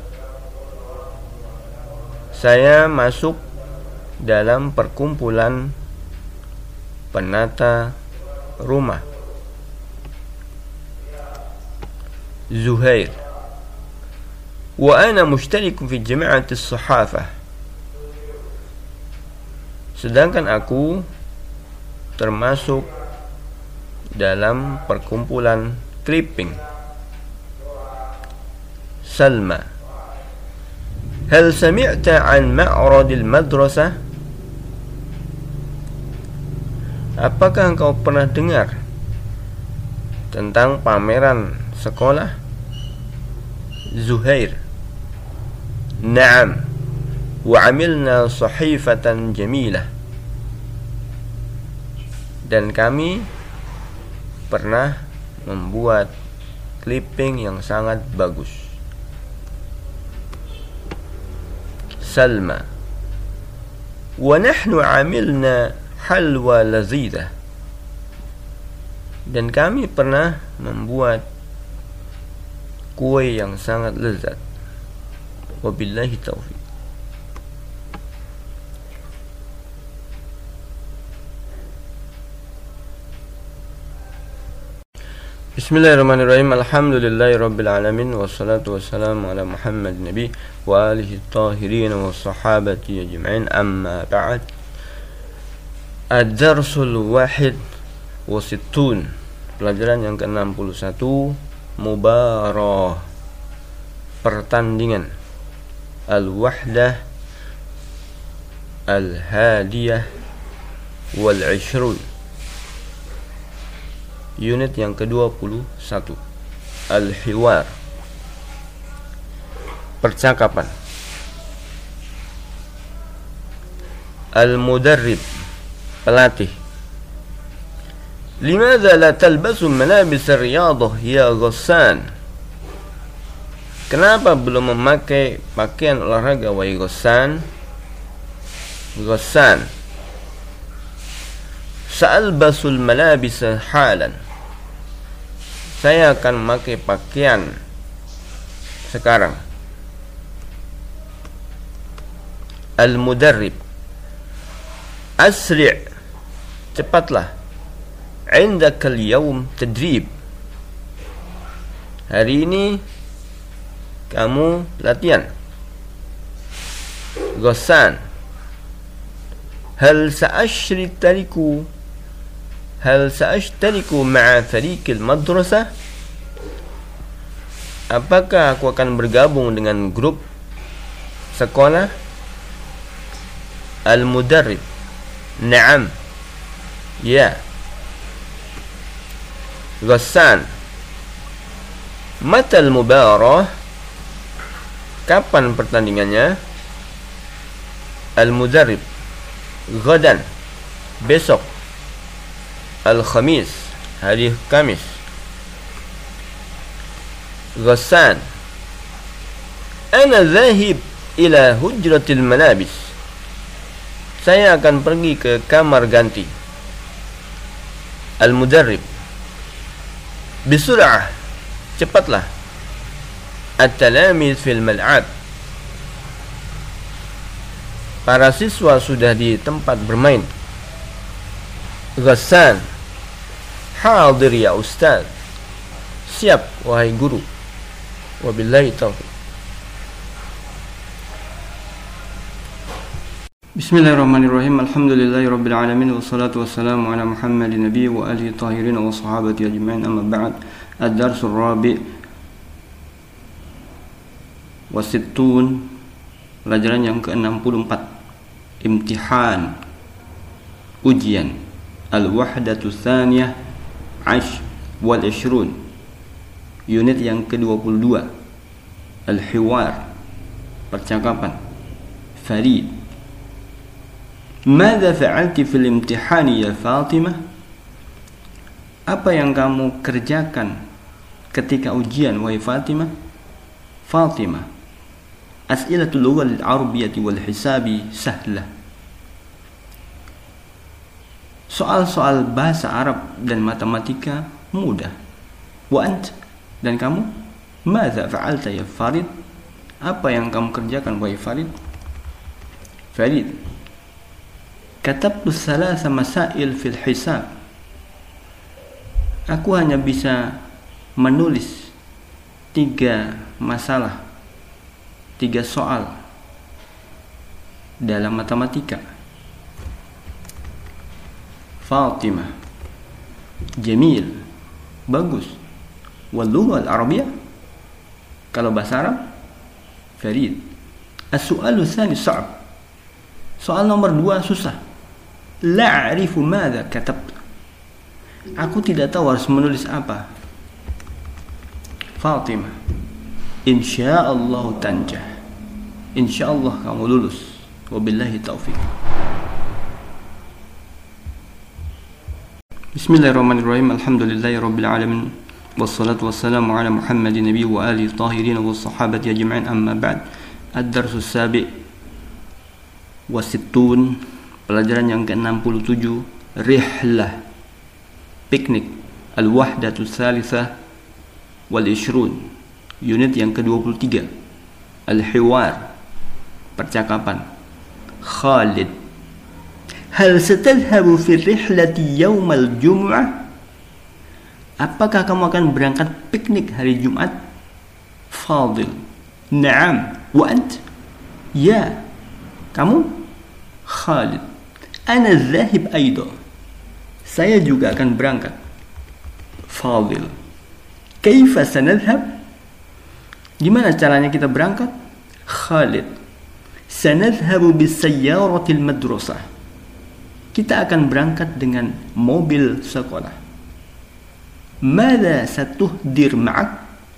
Saya masuk dalam perkumpulan penata rumah. Zuhair. Wa ana mushtarikun fi jama'ati as-sahafah. Sedangkan aku termasuk dalam perkumpulan clipping. Salma. Hal sami'ta an ma'radil madrasah? Apakah engkau pernah dengar tentang pameran sekolah? Zuhair. Naam. Wa amilna sahifatan jamilah. Dan kami pernah membuat clipping yang sangat bagus. Salma. Wa nahnu amilna halwa lazidah. Dan kami pernah membuat kue yang sangat lezat. Wabillahi taufiq. Bismillahirrahmanirrahim. Alhamdulillahi rabbil alamin. Wassalatu wassalamu ala Muhammad nabi wa alihi tahirin wa sahabati ajma'in, amma ba'd. Ad-darsul wahid wa sittun. Pelajaran yang ke enam puluh satu. Mubarah, pertandingan. Al-wahdah Al-hadiyah Wal-ishrun. Unit yang ke dua puluh satu. Al-hiwar, percakapan. Al-mudarrib, pelatih. Limadha la talbasu malabis ar-riyadah ya Ghassan? Kenapa belum memakai pakaian olahraga wahai Ghassan? Ghassan, sa'albasul malabis halan. Saya akan memakai pakaian sekarang. Al-mudarrib, asri', cepatlah. Indaka al-yawm tadrib, hari ini kamu latihan. Ghassan, hal sa'ashtariku hal sa'ashtariku ma'a fariq al-madrasah? Apakah aku akan bergabung dengan grup sekolah? Al-mudarrib, na'am, ya. Ghassan, matal mubarah, kapan pertandingannya? Al-mudarrib, ghadan, besok. Al-khamis, hari Kamis. Ghassan, ana dhahib ila hujratil malabis, saya akan pergi ke kamar ganti. Al-mudarrib, bisur'ah, cepatlah. At-talamiz fil mal'ab, para siswa sudah di tempat bermain. Ghassan, hadir ya ustaz, siap wahai guru. Wabillahi taufiq. Bismillahirrahmanirrahim. Alhamdulillahirabbil alamin wassalatu wassalamu ala Muhammadin nabiy wa alihi tahirin wa sahabati ajma'in, amma ba'd. Ad-darsul rabi' wa sittun, pelajaran yang ke enam puluh empat. Imtihan, ujian. Al-wahdatu tsaniyah ash wal ishrun, unit yang ke dua puluh dua. Al-hiwar, percakapan. Farid, Mada fa'alti fil imtihani ya Fatimah? Apa yang kamu kerjakan ketika ujian wahai Fatimah? Fatimah, as'ilatul lughah al-arabiyyah wal hisabi sahlah. Soal-soal bahasa Arab dan matematika mudah. Wa ant, dan kamu? Mada fa'alta ya Farid? Apa yang kamu kerjakan wahai Farid? Farid, katabtu thalatha masail fil hisab. Aku hanya bisa menulis tiga masalah, tiga soal dalam matematika. Fatimah, jamil, bagus. Wal lugha al-arabiyyah, kalau bahasa Arab. Farid, as-su'alu tsani sa'b. Soal nomor dua susah. La a'rifu madza katabta. Aku tidak tahu harus menulis apa. Fatimah, insyaallah tanjah. Insyaallah kamu lulus. Wabillahi taufiq. Bismillahirrahmanirrahim. Alhamdulillahirabbil alamin. Wassalatu wassalamu ala Muhammadin nabiy wa alihi tahirin wa sahabati ajma'in, amma ba'd. Ad-darsus sabi' wasittun, pelajaran yang ke enam puluh tujuh. Rihlah, piknik. Al-wahdatu tsalitsah wal ishrun, unit yang ke dua puluh tiga. Al-hiwar, percakapan. Khalid, hal satadhhabu fi rihlati yaumal jum'ah? Apakah kamu akan berangkat piknik hari Jumat? Fadil, na'am. Wa ant? Ya. Kamu? Khalid, ana dhahib aidan. Saya juga akan berangkat. Fadil, kaifa sanadhhab? Gimana caranya kita berangkat? Khalid, sanadhhabu bisayyaratil madrasah. Kita akan berangkat dengan mobil sekolah. Mada satuhdir ma'ak?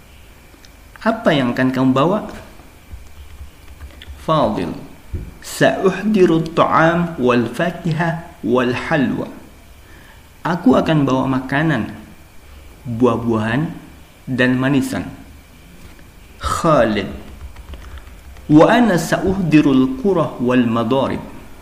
Apa yang akan kamu bawa? Fadil, sa'uhdiru at-ta'am wal fakihah wal halwa. Aku akan bawa makanan, buah-buahan dan manisan. Khalid, wa ana sa'uhdirul qurah wal madarib.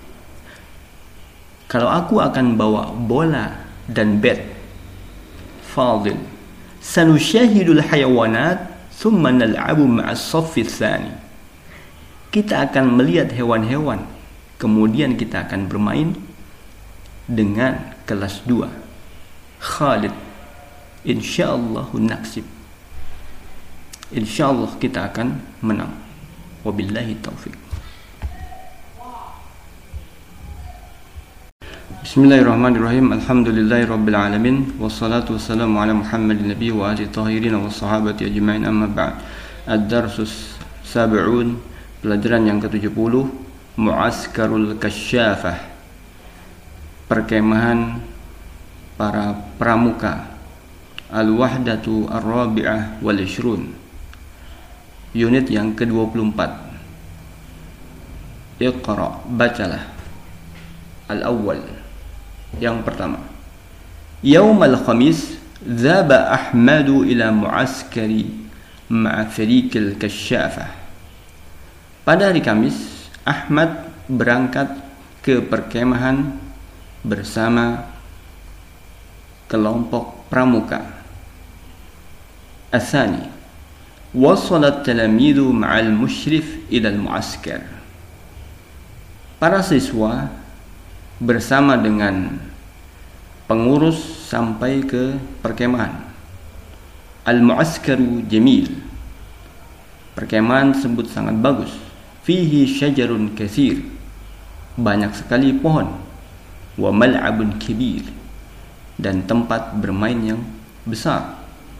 Kalau aku akan bawa bola dan bat. Fadil, sanushahidul hayawanat thumma nal'abu ma'as saffi tsani. Kita akan melihat hewan-hewan, kemudian kita akan bermain dengan kelas dua. Khalid, insyaallah naksib. Insyaallah kita akan menang. Wabillahi taufik. Bismillahirrahmanirrahim. Alhamdulillahi rabbil alamin. Wassalatu wassalamu ala Muhammadin nabiy wa alihi tahirin wa sahabati ajma'in, amma ba'd. Ad-darsus sab'un, pelajaran yang ketujuh puluh, Mu'askarul Kasyafah, perkemahan para pramuka. Al-wahdatu ar-rabi'ah wal ishrun, unit yang ke dua puluh empat. Iqra, bacalah. Al-awwal, yang pertama. Yaumal khamis dhaba Ahmadu ila mu'askari ma'a fariqil kasyafah. Pada hari Kamis, Ahmad berangkat ke perkemahan bersama kelompok pramuka. Atsani, wasalat talamidu ma'al musyrif ila al-mu'askar. Para siswa bersama dengan pengurus sampai ke perkemahan. Al-mu'askaru jamil, perkemahan tersebut sangat bagus. Fihi syajarun katsir, banyak sekali pohon. Wa mal'abun kibir, dan tempat bermain yang besar.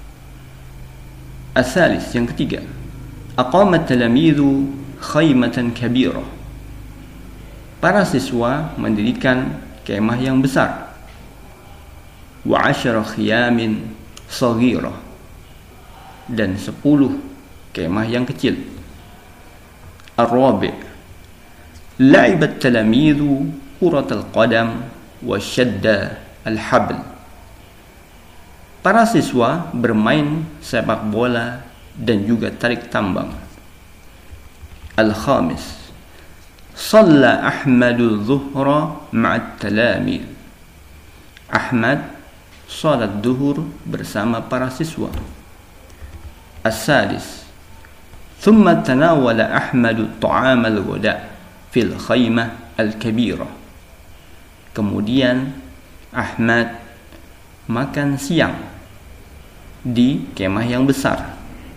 Asalis, yang ketiga. Aqamat talamidhu khaymatan kabirah. Para siswa mendirikan kemah yang besar. Wa asyara khiyamin saghirah, dan sepuluh kemah yang kecil. Ar-rabi', la'ibat talamidhu kuratal qadam wa syadda al-habl. Para siswa bermain sepak bola dan juga tarik tambang. Al-khamis, shalla Ahmadu dhuhra ma'at talamid. Ahmad salat duhur bersama para siswa. As-sadis, thumma tanawala Ahmadu ta'am al-ghada fil khaymah al-kabirah. Kemudian Ahmad makan siang di kemah yang besar.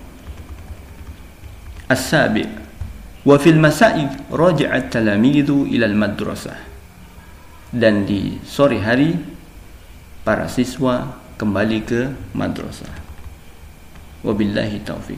As-sabi', wa fil masa'i raja'a at-talamidhu ila al-madrasah. Dan di sore hari para siswa kembali ke madrasah. Wabillahi taufik.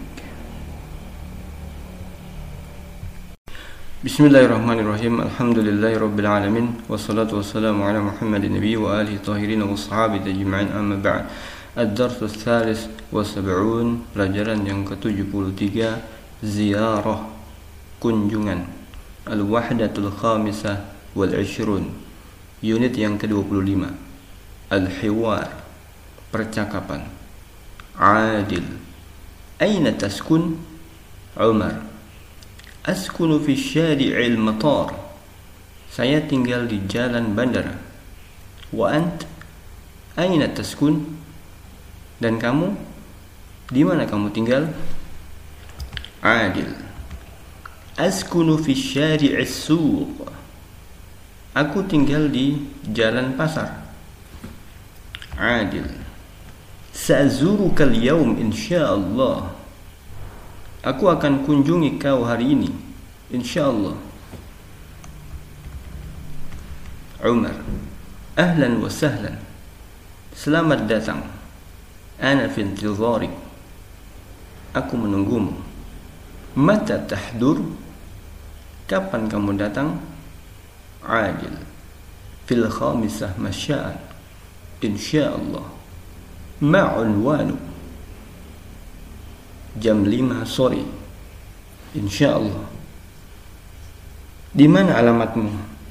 Bismillahirrahmanirrahim. Alhamdulillahi rabbil alamin. Wassalatu wassalamu ala Muhammadin nabiy wa alihi tahirin wa sahabati ajma'in, amma ba'd. Ad-darsus tsalis wa sab'un, pelajaran yang ke tujuh puluh tiga. Ziyarah, kunjungan. Al-wahdatul khamisah wal ishrun, unit yang ke dua puluh lima. Al-hiwar, percakapan. Adil, aina taskun? Umar, askunu fi syari'il matar. Saya tinggal di jalan bandara. Wa ant, aina taskun? Dan kamu, di mana kamu tinggal? Adil, askunu fi syari'is suq. Aku tinggal di jalan pasar. Adil, sa'zuruka al-yawm insyaallah. Aku akan kunjungi kau hari ini, insyaallah. Umar, ahlan wa sahlan. Selamat datang. Ana fi intidharik. Aku menunggumu. Mata tahdur? Kapan kamu datang? Adil, fil khamisah masya'an, insyaallah. Ma unwanu? jam lima sore. Insya Allah. Di mana alamatmu?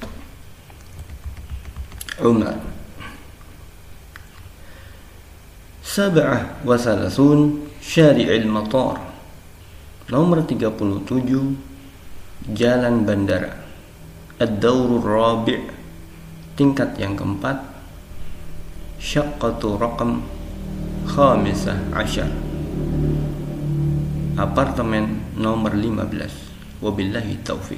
Umar. Sab'ah wa salasun Syari'il Matar. Nomor tiga puluh tujuh Jalan Bandara. Ad-Dawrul Rabi', tingkat yang keempat. Syaqqatu raqam khamisah asyar, apartemen nomor lima belas. Wabillahi taufiq.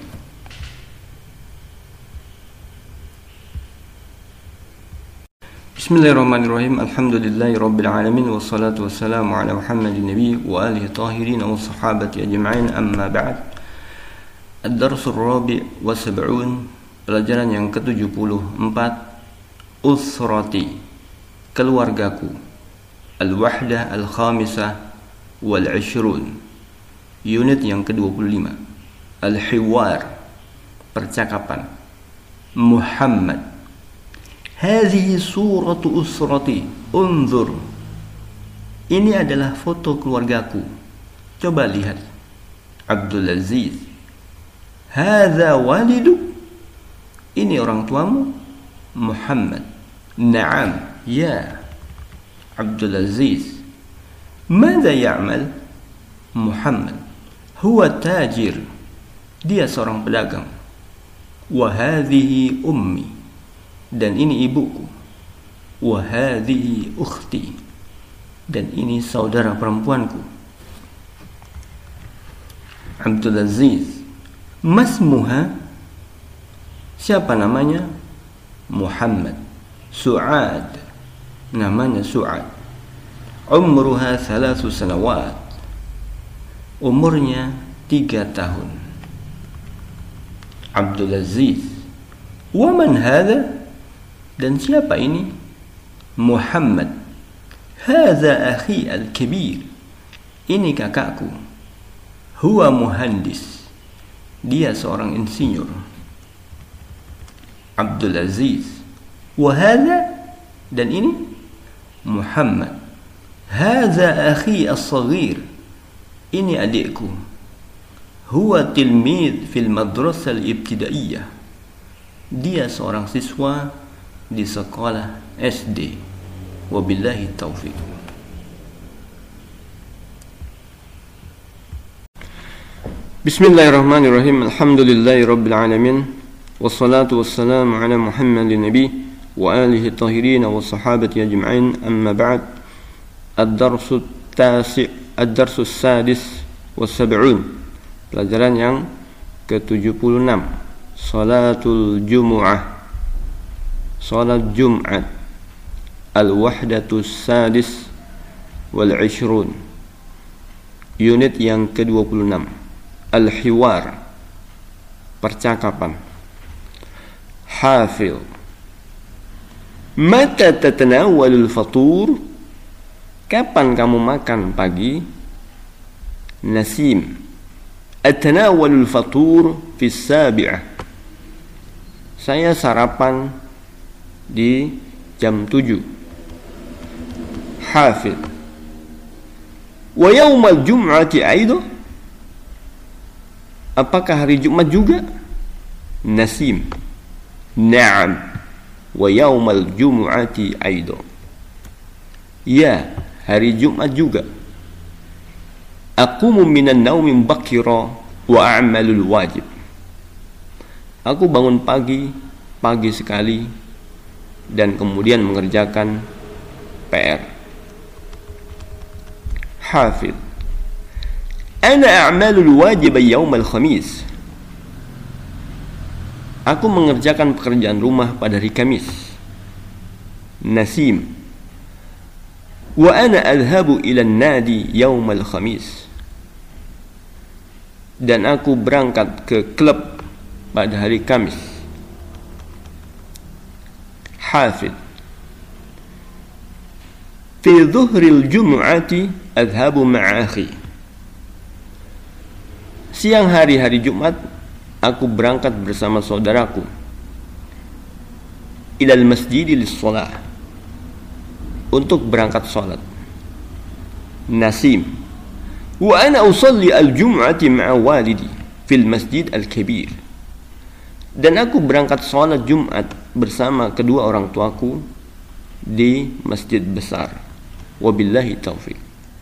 Bismillahirrahmanirrahim. Alhamdulillahi rabbil alamin, wassalatu wassalamu ala Muhammadin nabi wa alihi tahirin wa sahabati ajma'in, amma ba'd. Ad-darsul rabi' wa sab'un, pelajaran yang ke tujuh puluh empat. Usrati, keluargaku. Al-wahdah al-khamisah wal ishrun, unit yang ke dua puluh lima. Al-hiwar, percakapan. Muhammad. Hadhihi suratu usrati, unzur. Ini adalah foto keluargaku, coba lihat. Abdul Aziz. Hadza walidu, ini orang tuamu. Muhammad. Naam, ya. Abdul Aziz. Mada ya'mal? Muhammad. Huwa tajir, dia seorang pedagang. Wa hadhihi ummi, dan ini ibuku. Wa hadhihi ukhti, dan ini saudara perempuanku. Abdul Aziz. Masmuha, siapa namanya? Muhammad. Su'ad, namanya Su'ad. Umruha thalathu sanawat, umurnya tiga tahun. Abdul Aziz. Wa man hadha, dan siapa ini? Muhammad. Hadha akhi al-kabir, ini kakakku. Huwa muhandis, dia seorang insinyur. Abdul Aziz. Wa hadha, dan ini? Muhammad. Hadha akhi as-saghir, ini adikku. Huwa tilmid fil madrasah al-ibtidaiyah, dia seorang siswa di sekolah S D. Wabillahi taufiq. Bismillahirrahmanirrahim. Alhamdulillahi rabbil alamin, wassalatu wassalamu ala Muhammadin nabi wa alihi tahirin wa sahabati ajma'in, amma ba'd. Ad-darsu tasi' ad-darsu sadis wa sab'un, pelajaran yang ke tujuh puluh enam. Salatul Jumu'ah, salat Jumat. Al-wahdatu sadis wal ishrun, unit yang ke dua puluh enam. Al-hiwar, percakapan. Hafil. Mata tatanawalul fatur, kapan kamu makan pagi? Nasim. Atanawalul fatur fi sabi'ah, saya sarapan di jam tujuh. Hafid. Wa yaumal jum'ati aido, apakah hari Jumat juga? Nasim. Naam. Wa yaumal jum'ati aido, ya, hari Jumat juga. Aqumu minan naumi bakira wa a'malul wajib, aku bangun pagi, pagi sekali, dan kemudian mengerjakan P R. Hafid. Ana a'malul wajib yaumal khamis, aku mengerjakan pekerjaan rumah pada hari Kamis. Nasim. Wa ana adhabu ila nadi yaumal khamis, dan aku berangkat ke klub pada hari Kamis. Hafid. Fi dhuhril jumu'ati adhabu ma'a akhi, siang hari hari Jumat aku berangkat bersama saudaraku. Ilal masjidi lis-shalah, untuk berangkat salat. Nasim. wa ana usalli al-jum'ati ma'a walidi fil masjid al-kabir. Dan aku berangkat salat Jumat bersama kedua orang tuaku di masjid besar. Wabillahi taufiq.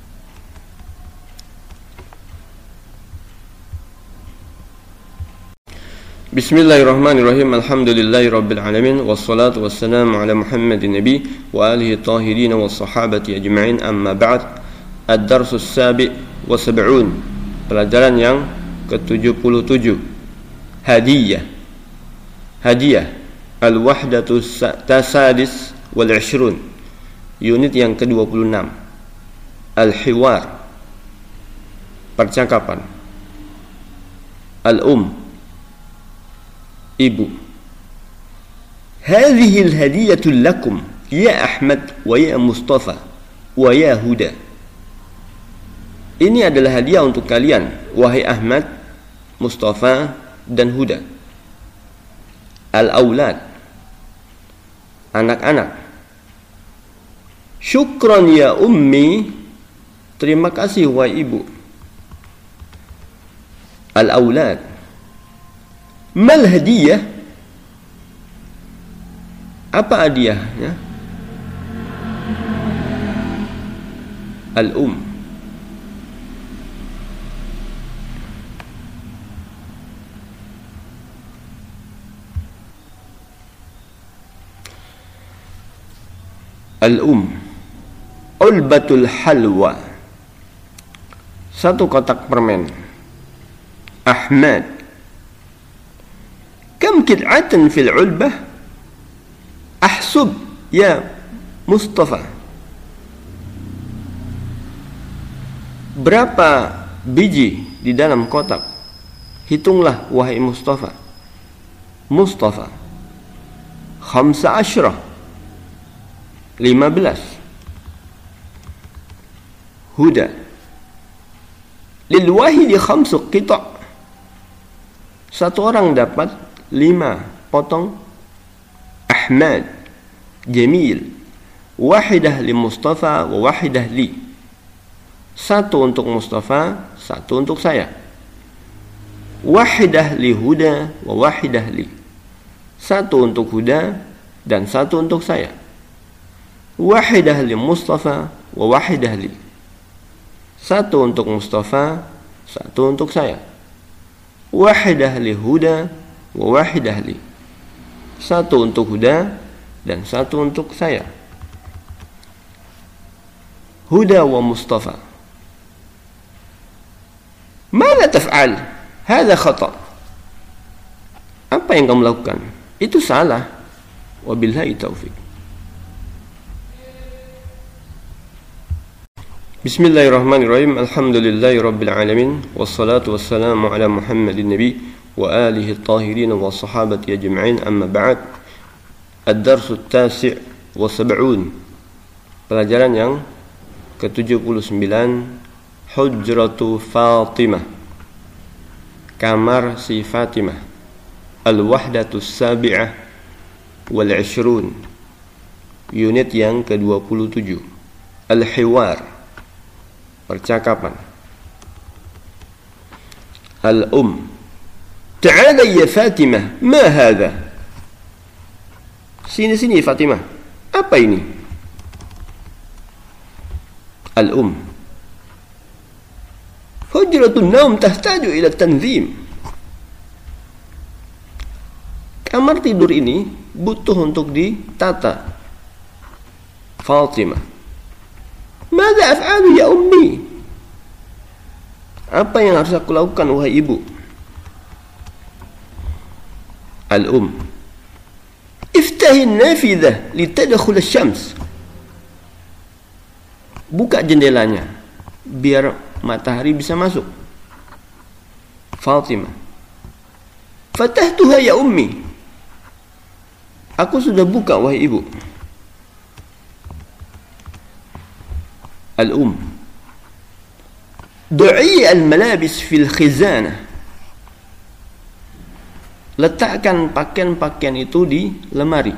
Bismillahirrahmanirrahim. Alhamdulillahi rabbil alamin, wassalatu wassalamu ala Muhammadin nabi wa alihi tahirin wa sahabati ajma'in, amma ba'd. Ad-darsus sabi' wa sab'un, pelajaran yang ke tujuh puluh tujuh. Hadiyah. Hadiah Al-Wahdatu Tasadis wal Ishrun, unit yang ke dua puluh enam. Al-Hiwar, percakapan. Al-Um, ibu. Hadhihi al-hadiyatu lakum ya Ahmad wa ya Mustafa wa ya Huda. Ini adalah hadiah untuk kalian, wahai Ahmad, Mustafa dan Huda. Al-Aulad, anak-anak. Syukran ya ummi, terima kasih wahai ibu. Al-Aulad. Mal hadiyah, apa hadiahnya? Al-Um. Al-Um, ulbatul halwa, satu kotak permen. Ahmad, kam kid'atan fil ulbah? Ahsub ya Mustafa, berapa biji di dalam kotak? Hitunglah wahai Mustafa. Mustafa, khamsa asyrah, lima belas. Huda, lil wahidi khamsu qita', satu orang dapat lima potong. Ahmad, jamil, wahidah li Mustafa wa wahidah li, satu untuk Mustafa, satu untuk saya. Wahidah li Huda wa wahidah li, satu untuk Huda dan satu untuk saya. Wahidah li Mustafa wa wahidah li, satu untuk Mustafa, satu untuk saya. Wahidah li Huda wa wahidah li, satu untuk Huda dan satu untuk saya. Huda wa Mustafa. Mada taf'al? Hada khata'. Apa yang kamu lakukan? Itu salah. Wabillahi taufiq. Bismillahirrahmanirrahim. Alhamdulillahi rabbil alamin, wassalatu wassalamu ala Muhammadin nabi wa alihi tahirin wa sahabati ajma'in, amma ba'd. Ad-darsu tasi' wa sab'un, pelajaran yang ke tujuh puluh sembilan. Hujratu Fatimah, kamar si Fatimah. Al-Wahdatu Sabi'ah wal Ishrun, unit yang ke dua puluh tujuh. Al-Hiwar, percakapan. Al-Um, ta'ala ya Fatimah, ma hadha? Sini-sini Fatimah, apa ini? Al-Um, hujratun naum tahtaju ila tanzim. Kamar tidur ini butuh untuk ditata. Fatimah, mada af'alu ya ummi? Apa yang harus aku lakukan wahai ibu? Al-Um, iftahi an-nafidah litadkhul asy-syams. Buka jendelanya biar matahari bisa masuk. Fatimah, fatahtuha ya ummi. Aku sudah buka wahai ibu. Al-Um, du'i al-malabis fil khizanah. Letakkan pakaian-pakaian itu di lemari.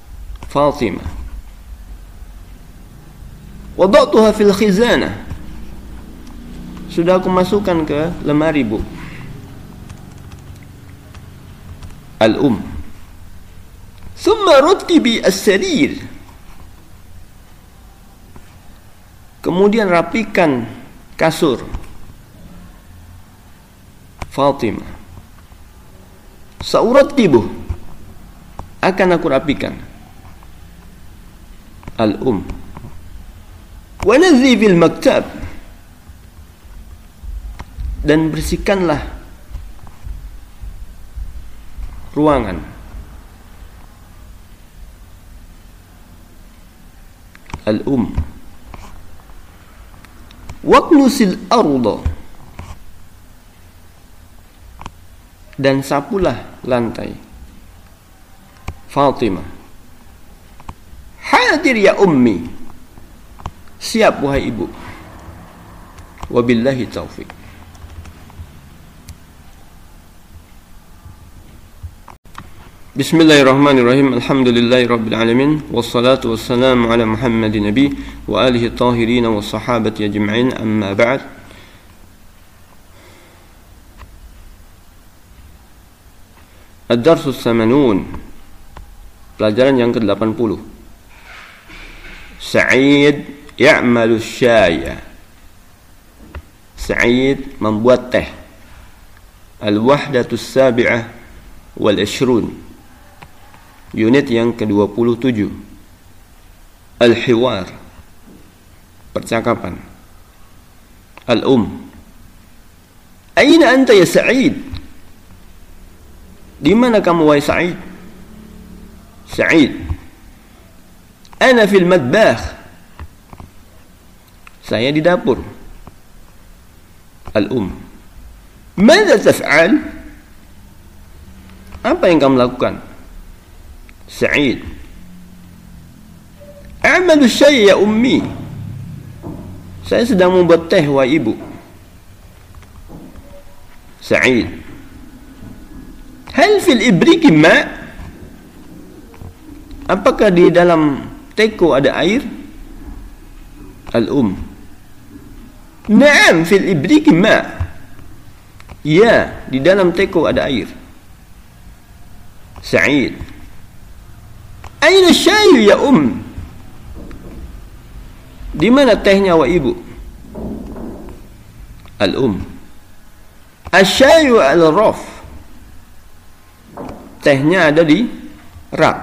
Fatimah, wada'tuha fil khizanah. sudah aku masukkan ke lemari, Bu. Al-um. Thumma ruttibi as-sarir. Kemudian rapikan kasur. Fatimah. Saurattibu. Akan aku rapikan. Al-um. Wa nazifil maktab. Dan bersihkanlah ruangan. Al-um. Waqnusil arda. Dan sapulah lantai. Fatimah. Hadir ya ummi. Siap wahai ibu. Wabillahi taufik. Bismillahirrahmanirrahim. Alhamdulillahi rabbil alamin. Wassalatu wassalamu ala Muhammadin nabi wa alihi tahirin wa sahabati ajma'in. Amma ba'd. Ad-darsus samanun. Pelajaran yang ke delapan puluh. Sa'id ya'malu syaya. Sa'id membuat teh. Al-wahdatus sabi'ah wal ishrun. Unit yang ke dua puluh tujuh. Al-hiwar. Percakapan. Al-um. Aina anta ya Sa'id? Di mana kamu wahai Sa'id? Sa'id. Ana fil madbakh. Saya di dapur. Al-um. Mada taf'al? Apa yang kamu lakukan? Sa'id. A'malu syai' ya ummi. Saya sedang membuat teh wahai ibu. Sa'id. Hal fil ibriki ma'? Apakah di dalam teko ada air? Al-um. Na'am fil ibriki ma'. Ya, di dalam teko ada air. Sa'id. Aina syai' ya um? Di mana tehnya wa ibu? Al-um. Asy-syai' al-raf. Tehnya ada di rak.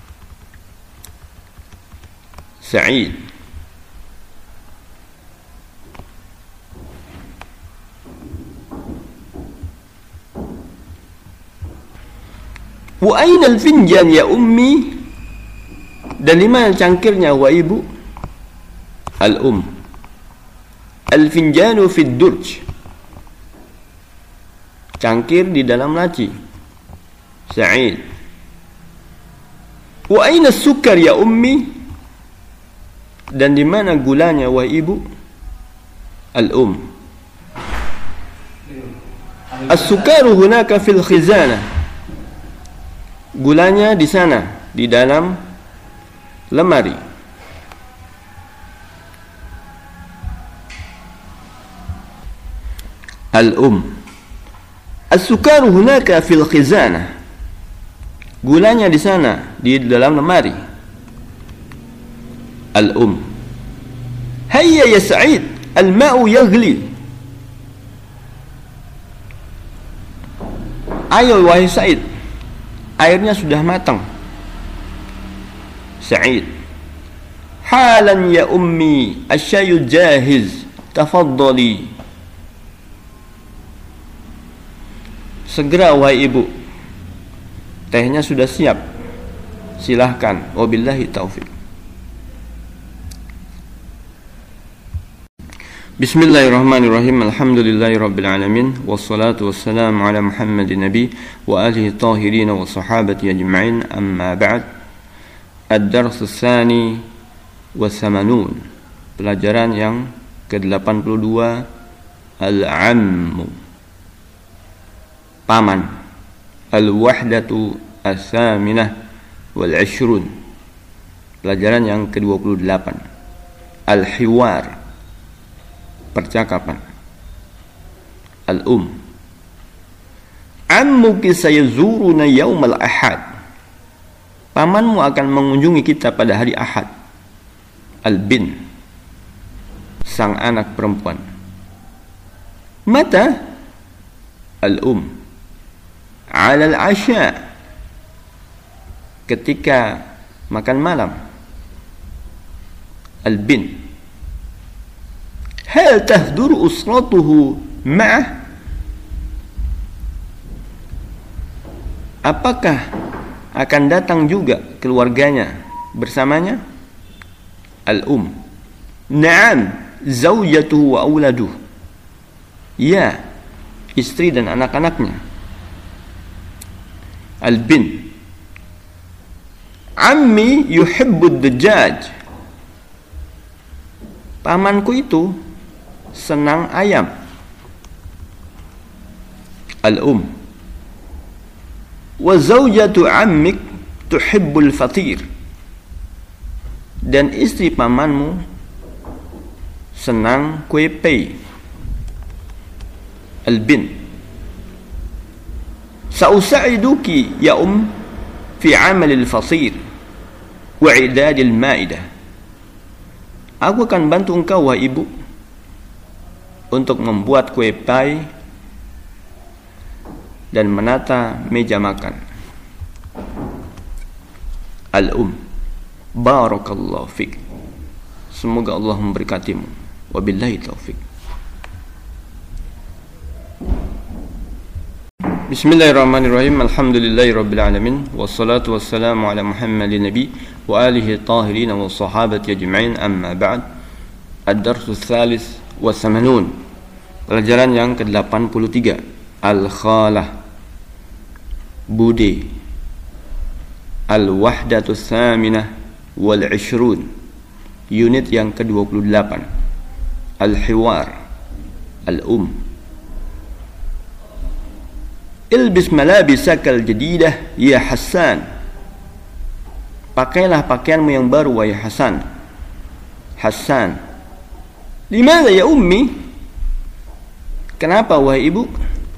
Sa'id. Wa aina al-finjan ya ummi? Dan di mana cangkirnya wa ibu? Al-um. Al-finjanu fid durj. Cangkir di dalam laci. Sa'id. Wa aina as-sukkar ya ummi? Dan di mana gulanya wa ibu? Al-um. As-sukkaru hunaka fil khizanah. Gulanya di sana, di dalam lemari. Al-um. As-sukaru hunaka fil khizanah. Gulanya di sana, di dalam lemari. Al-um. Hayya ya Sa'id, al-ma'u yaghli. Ayo wahai Sa'id, airnya sudah matang. Sa'id. Halan ya ummi, asy-syai' jahiz. Tafaddali. Segera wahai ibu, tehnya sudah siap. Silahkan. Wabillahi taufik. Bismillahirrahmanirrahim. Alhamdulillahi rabbil alamin. Wassalatu wassalamu ala Muhammadin nabi wa alihi tahirin wa sahabati ajma'in. Amma ba'd. Ad-dars tsani wa thamanun. Pelajaran yang ke delapan puluh dua. Al-ammu. Paman. Al-wahdatu as-saminah wal ishrun. Pelajaran yang ke dua puluh delapan. Al-hiwar. Percakapan. Al-um. Ammuki sayazuruna yaumal ahad. Pamanmu akan mengunjungi kita pada hari Ahad. Al-bin, sang anak perempuan. Mata? Al-um. Ala al-asya, ketika makan malam. Al-bin. Hal tahduru usratuhu ma'ah? Apakah akan datang juga keluarganya bersamanya? Al-um. Naam, zawjatuhu wa auladuh. Ya, istri dan anak-anaknya. Al-bin. Ammi yuhibbud dajjaj. Pamanku itu senang ayam. Al-um. Wa zawjatu ammik tuhibbul fatir. Dan istri pamanmu senang kue pei. Al-bin. Sa'usa'iduki ya um fi amal al-fasir wa i'dad al-ma'idah. Aku akan bantu engkau wahai ibu untuk membuat kue pie dan menata meja makan. Al-um. Barakallahu fik. Semoga Allah memberkatimu. Wabillahi taufik. Bismillahirrahmanirrahim. Alhamdulillahi rabbil alamin. Wassalatu wassalamu ala Muhammadin nabi wa alihi tahirin wa sahabati ajma'in, amma ba'd. Ad-darsu tsalis wa thamanun. Pelajaran yang ke delapan puluh tiga. Al-khalah, bude. Al-wahdatu tsaminah wal ishrun, unit yang ke dua puluh delapan. Al-hiwar. Al-um. Ilbis malabisakal jadidah ya Hasan. Pakailah pakaianmu yang baru wahai Hasan. Hasan. Limadha ya ummi? Kenapa wahai ibu?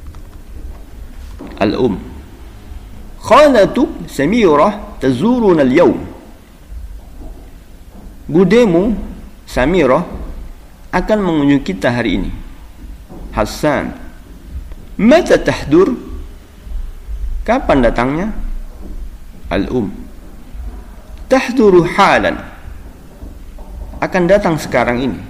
Al-um. Khalatuk Samirah tazuruna al-yawm. Budemu Samirah akan mengunjungi kita hari ini. Hasan. Mata tahdur? Kapan datangnya? Al-um. Tahduru halan. Akan datang sekarang ini.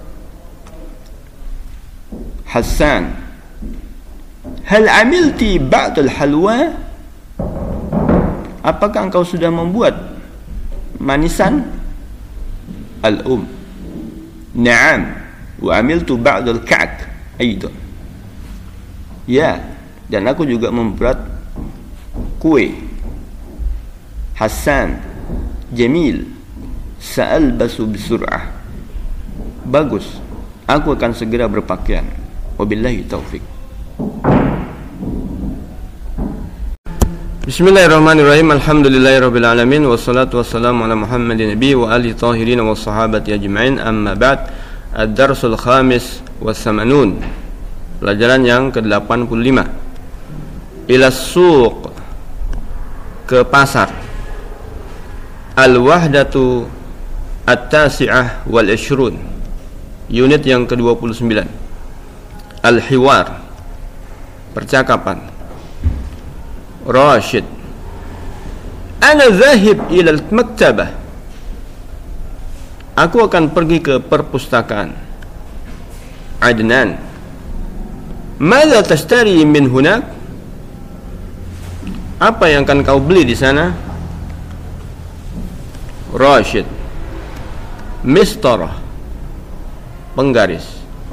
Hasan. Hal amilti ba'dal halwa? Apakah engkau sudah membuat manisan? Al-um. Naam, wa amiltu ba'dal ka'k aidan. Ya, dan aku juga membuat kue. Hasan. Jamil. Sa'albasu bisur'ah. Bagus, aku akan segera berpakaian. Wabillahi taufik. Bismillahirrahmanirrahim. Alhamdulillahirabbil alamin wassalatu wassalamu ala Muhammadin nabi wa alihi tahirin wa sahabati ajma'in, amma ba'd. Ad-darsul khamis wa thamanun. Pelajaran yang ke delapan puluh lima. Ila suq, ke pasar. Al-wahdatu at-tasi'ah wal ishrun, unit yang ke dua puluh sembilan. Al-hiwar, percakapan. Rashid. Ana zahib ila al-maktabah. Aku akan pergi ke perpustakaan. Adnan. Mada tashtari min hunak? Apa yang akan kau beli di sana? Rashid. Mistarah, penggaris.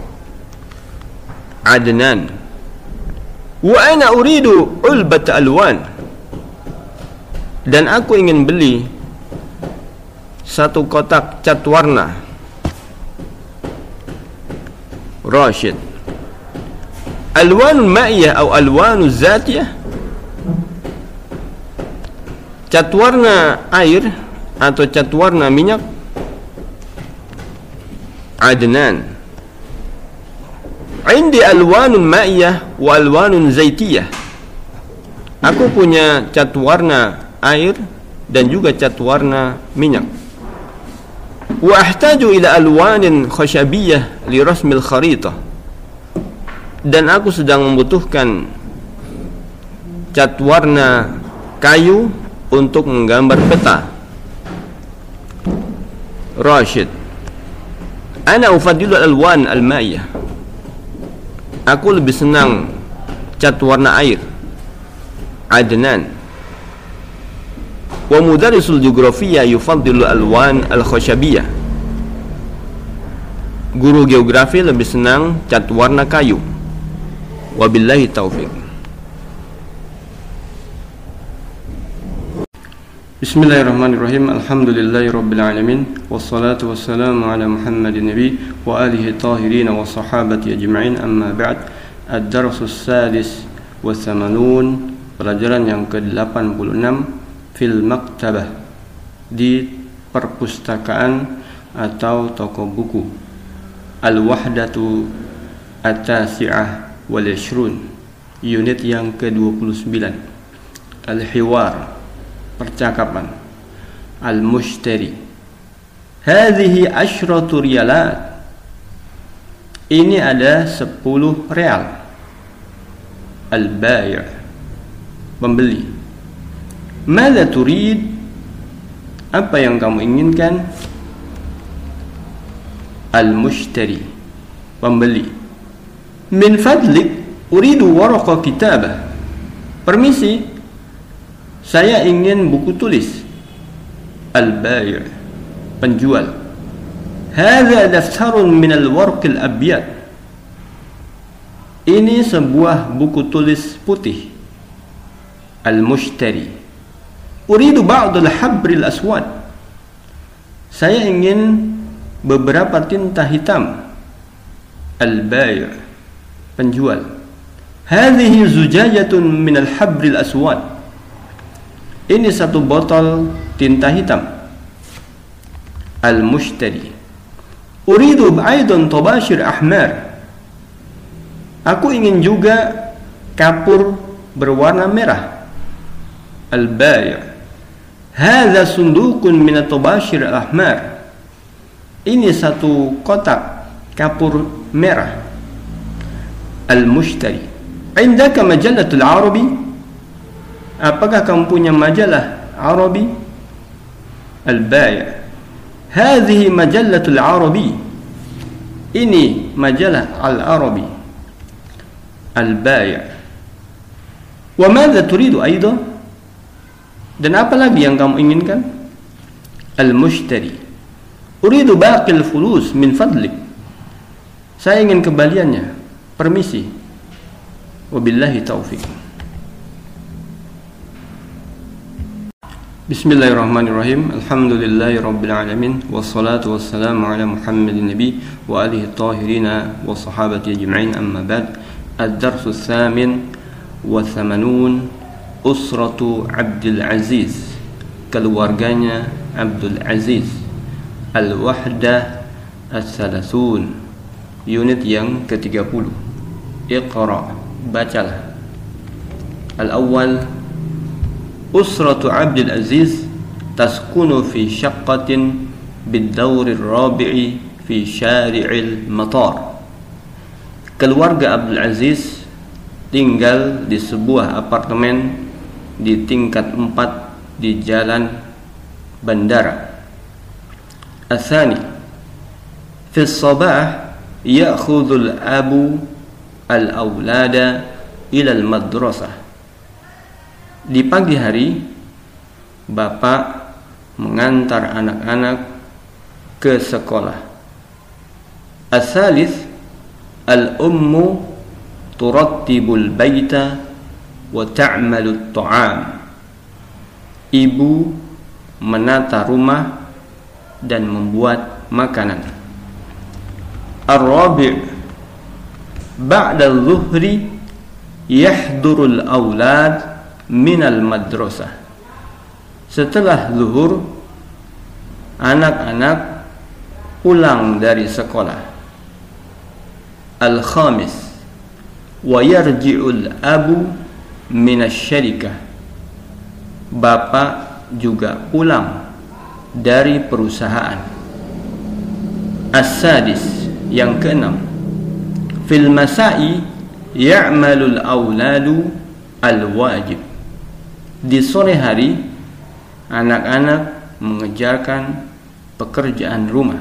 Adnan. Wa ana uridu ulbat alwan. Dan aku ingin beli satu kotak cat warna. Rashid. Alwanul ma'iyah atau alwanul zatiyah? Cat warna air atau cat warna minyak? Adnan. Indi alwanun ma'iyah wa alwanun zaitiyah. Aku punya cat warna air dan juga cat warna minyak. Wa ahtaju ila alwanin khashabiyah li rasmil kharitah. Dan aku sedang membutuhkan cat warna kayu untuk menggambar peta. Rashid, ana ufaddilu alwan alma'iyah. Aku lebih senang cat warna air. Adnan, wa mudarrisul geografiyah yufaddilu alwan al-khashabiyah. Guru geografi lebih senang cat warna kayu. Wabillahi taufiq. Bismillahirrahmanirrahim. Alhamdulillahi rabbil alamin. Wassalatu wassalamu ala Muhammadin nabi wa alihi tahirin wa sahabati ajma'in. Amma ba'd. Ad-darsus sadis wa thamanun. Pelajaran yang ke delapan puluh enam fil maktabah, di perpustakaan atau toko buku. Al-wahdatu at-tasi'ah wal ishrun, unit yang ke dua puluh sembilan. Al-hiwar, percakapan. Al-mushtari, hadhihi asyratu riyalat, ini ada sepuluh real. Al-bai', pembeli. Madza turid, apa yang kamu inginkan? Al-mushtari, pembeli. Min fadlik uridu warqa kitabah, permisi, saya ingin buku tulis. Al-bai', penjual. Hadza daftarun min al-warqil abyad, ini sebuah buku tulis putih. Al-mushtari, uridu ba'd al-habril aswad, saya ingin beberapa tinta hitam. Al-bai', penjual. Hadhihi zujajatun min al-habril aswad, ini satu botol tinta hitam. Al-mushtari, uridu aidan tabashir ahmar, aku ingin juga kapur berwarna merah. Al-bai', hadza sunduqun min at-tabashir al-ahmar, ini satu kotak kapur merah. Al-mushtari, indaka majallatul Arabi, apakah kamu punya majalah Arabi? Al-bai', hadhihi majallatul Arabi, ini majalah Al-Arabi. Al-bai', wa madza turidu aidan, dan apa lagi yang kamu inginkan? Al-mushtari, uridu baqil fulus min fadlik, saya ingin kembaliannya, permisi. Wabillahi taufiq. Bismillahirrahmanirrahim. Alhamdulillahi rabbil alamin. Wassalatu wassalamu ala Muhammadin nabi wa alihi tahirina wa sahabati ajma'in. Amma ba'd. Ad-darsu tsamin wa thamanun, usratu Abdul Aziz, keluarganya Abdul Aziz. Al-wahdah as-salasun, unit yang ke tiga puluh. Iqra, bacalah. Al-awwal, usratu Abdul Aziz taskunu fi syaqqatin bid-dawr ar-rabi'i fi syari'il matar. Keluarga Abdul Aziz tinggal di sebuah apartemen di tingkat empat di jalan bandara. Al-thani, fi as-sabah ya'khudhu al-abu al-awlada ila al-madrasah. Di pagi hari bapak mengantar anak-anak ke sekolah. Al-thalith, al-ummu turattibul baita wa ta'malu at-ta'am. Ibu menata rumah dan membuat makanan. Ar-rabi', ba'da al-zuhri yahdurul awlad minal madrasah. Setelah zuhur, anak-anak pulang dari sekolah. Al-khamis, wa yarji'ul abu minasyarikah, bapak juga pulang dari perusahaan. As-sadis, yang keenam, fil masai ya'malul auladu al-wajib, di sore hari anak-anak mengerjakan pekerjaan rumah.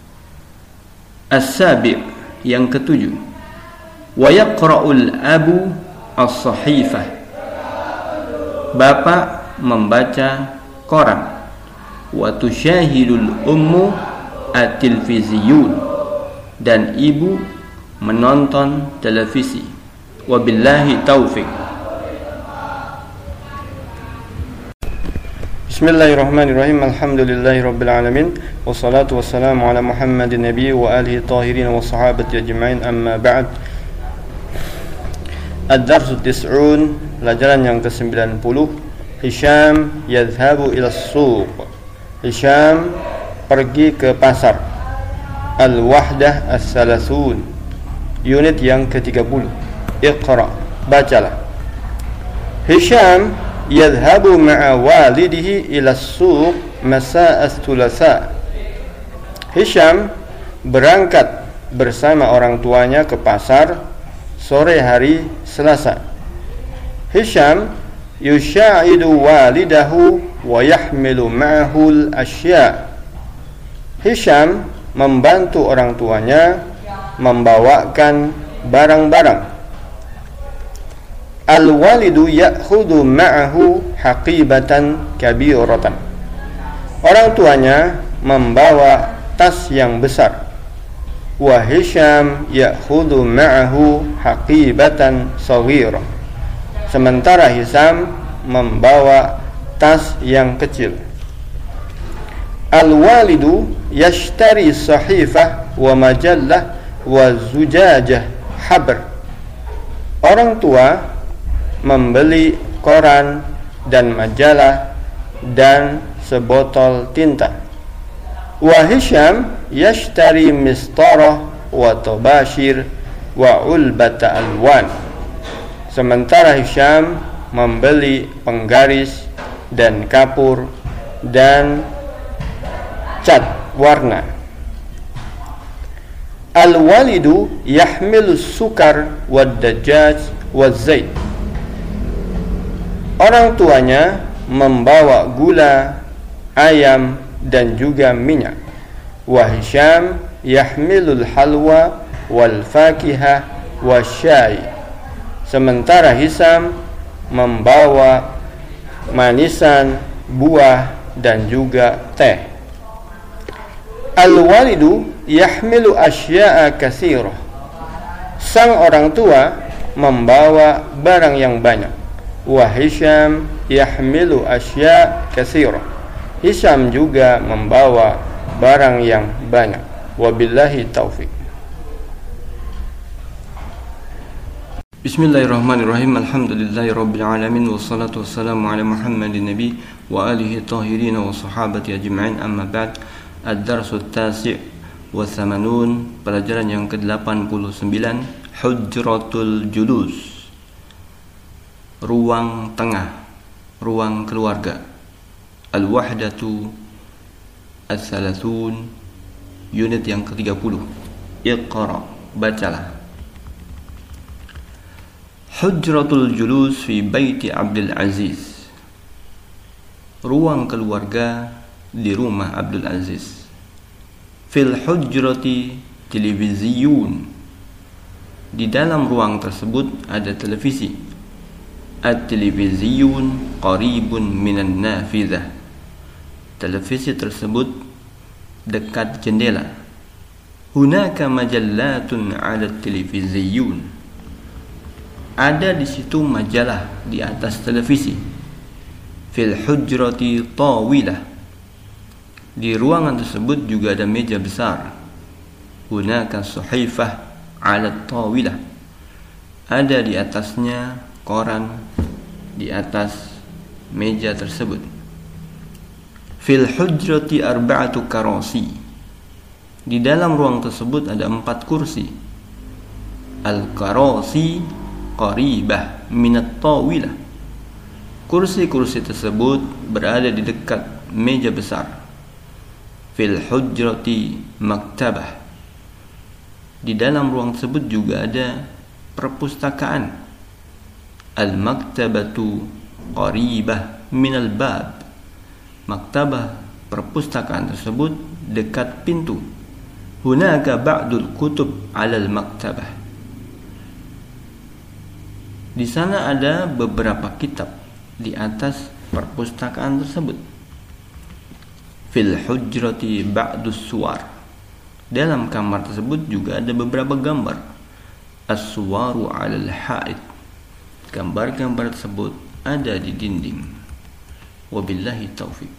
As-sabi', yang ketujuh, wa yaqra'ul abu as-sahifah, bapak membaca koran. Wa tusyahidul ummu at-tilviziyun, dan ibu menonton televisi. Wabillahi taufik. Bismillahirrahmanirrahim. Alhamdulillahi rabbil alamin. Wassalatu wassalamu ala Muhammadin nabiy wa alihi tahirin wa sahabati ajma'in, amma ba'd. Ad-darsu tis'un, pelajaran yang ke-sembilan puluh. Hisham yadhhabu ila as-suq, Hisham pergi ke pasar. Al-wahdah as-salasun, unit yang ke tiga puluh. Iqra, bacalah. Hisham yadhhabu ma'a walidihi ila as-suq masa'a as-thulatha. Hisham berangkat bersama orang tuanya ke pasar sore hari Selasa. Hisham yusha'idu walidahu wa yahmilu ma'ahu al-ashya'. Hisham membantu orang tuanya membawakan barang-barang. Al-walidu ya'khudhu ma'ahu haqibatan kabiratan. Orang tuanya membawa tas yang besar. Wa Hisham ya'khudhu ma'ahu haqibatan saghirah. Sementara Hisham membawa tas yang kecil. Al-walidu yashtari sahifah wa majallah wa zujajah habr. Orang tua membeli koran dan majalah dan sebotol tinta. Wa Hisham yashtari mistarah wa tabashir wa ulbata alwan. Sementara Hisham membeli penggaris dan kapur dan cat warna. Al-walidu yahmilu sukar wa dajjaj wa zait. Orang tuanya membawa gula, ayam dan juga minyak. Wa Hisham yahmilul halwa wal fakihah wa syai. Sementara Hisham membawa manisan, buah dan juga teh. Al-walidu yahmilu asya'a katsirah. Sang orang tua membawa barang yang banyak. Wa Hisham yahmilu asya' katsirah. Hisham juga membawa barang yang banyak. Wabillahi taufik. Bismillahirrahmanirrahim. Alhamdulillahi rabbil alamin. Wassalatu wassalamu ala Muhammadin nabiy wa alihi tahirin wa sahabati ajma'in, amma ba'd. Ad-darsu at-tasi' wa thamanun, pelajaran yang ke delapan puluh sembilan. Hujratul julus, ruang tengah, ruang keluarga. Al-wahdatu as-salasun, unit yang ke tiga puluh. Iqra, bacalah. Hujratul julus fi baiti Abdul Aziz, ruang keluarga di rumah Abdul Aziz. Fil hujrati televiziyun, di dalam ruang tersebut ada televisi. At-televiziyun qaribun minan nafidah, televisi tersebut dekat jendela. Hunaka majallatun 'ala televiziyun, ada di situ majalah di atas televisi. Fil hujrati tawilah, di ruangan tersebut juga ada meja besar. Hunaka suhaifah 'ala tawilah, ada di atasnya koran di atas meja tersebut. Fil hujrati arba'atu karasi, di dalam ruang tersebut ada empat kursi. Al-karasi qaribah minat tawilah. Kursi-kursi tersebut berada di dekat meja besar. Fil hujrati maktabah. Di dalam ruang tersebut juga ada perpustakaan. Al-maktabatu qaribah minal bab. Maktabah, perpustakaan tersebut dekat pintu. Hunaka ba'dul kutub 'alal maktabah. Di sana ada beberapa kitab di atas perpustakaan tersebut. Fil hujrati ba'dus suwar. Dalam kamar tersebut juga ada beberapa gambar. As-suwaru 'alal ha'id. Gambar-gambar tersebut ada di dinding. Wabillahi taufiq.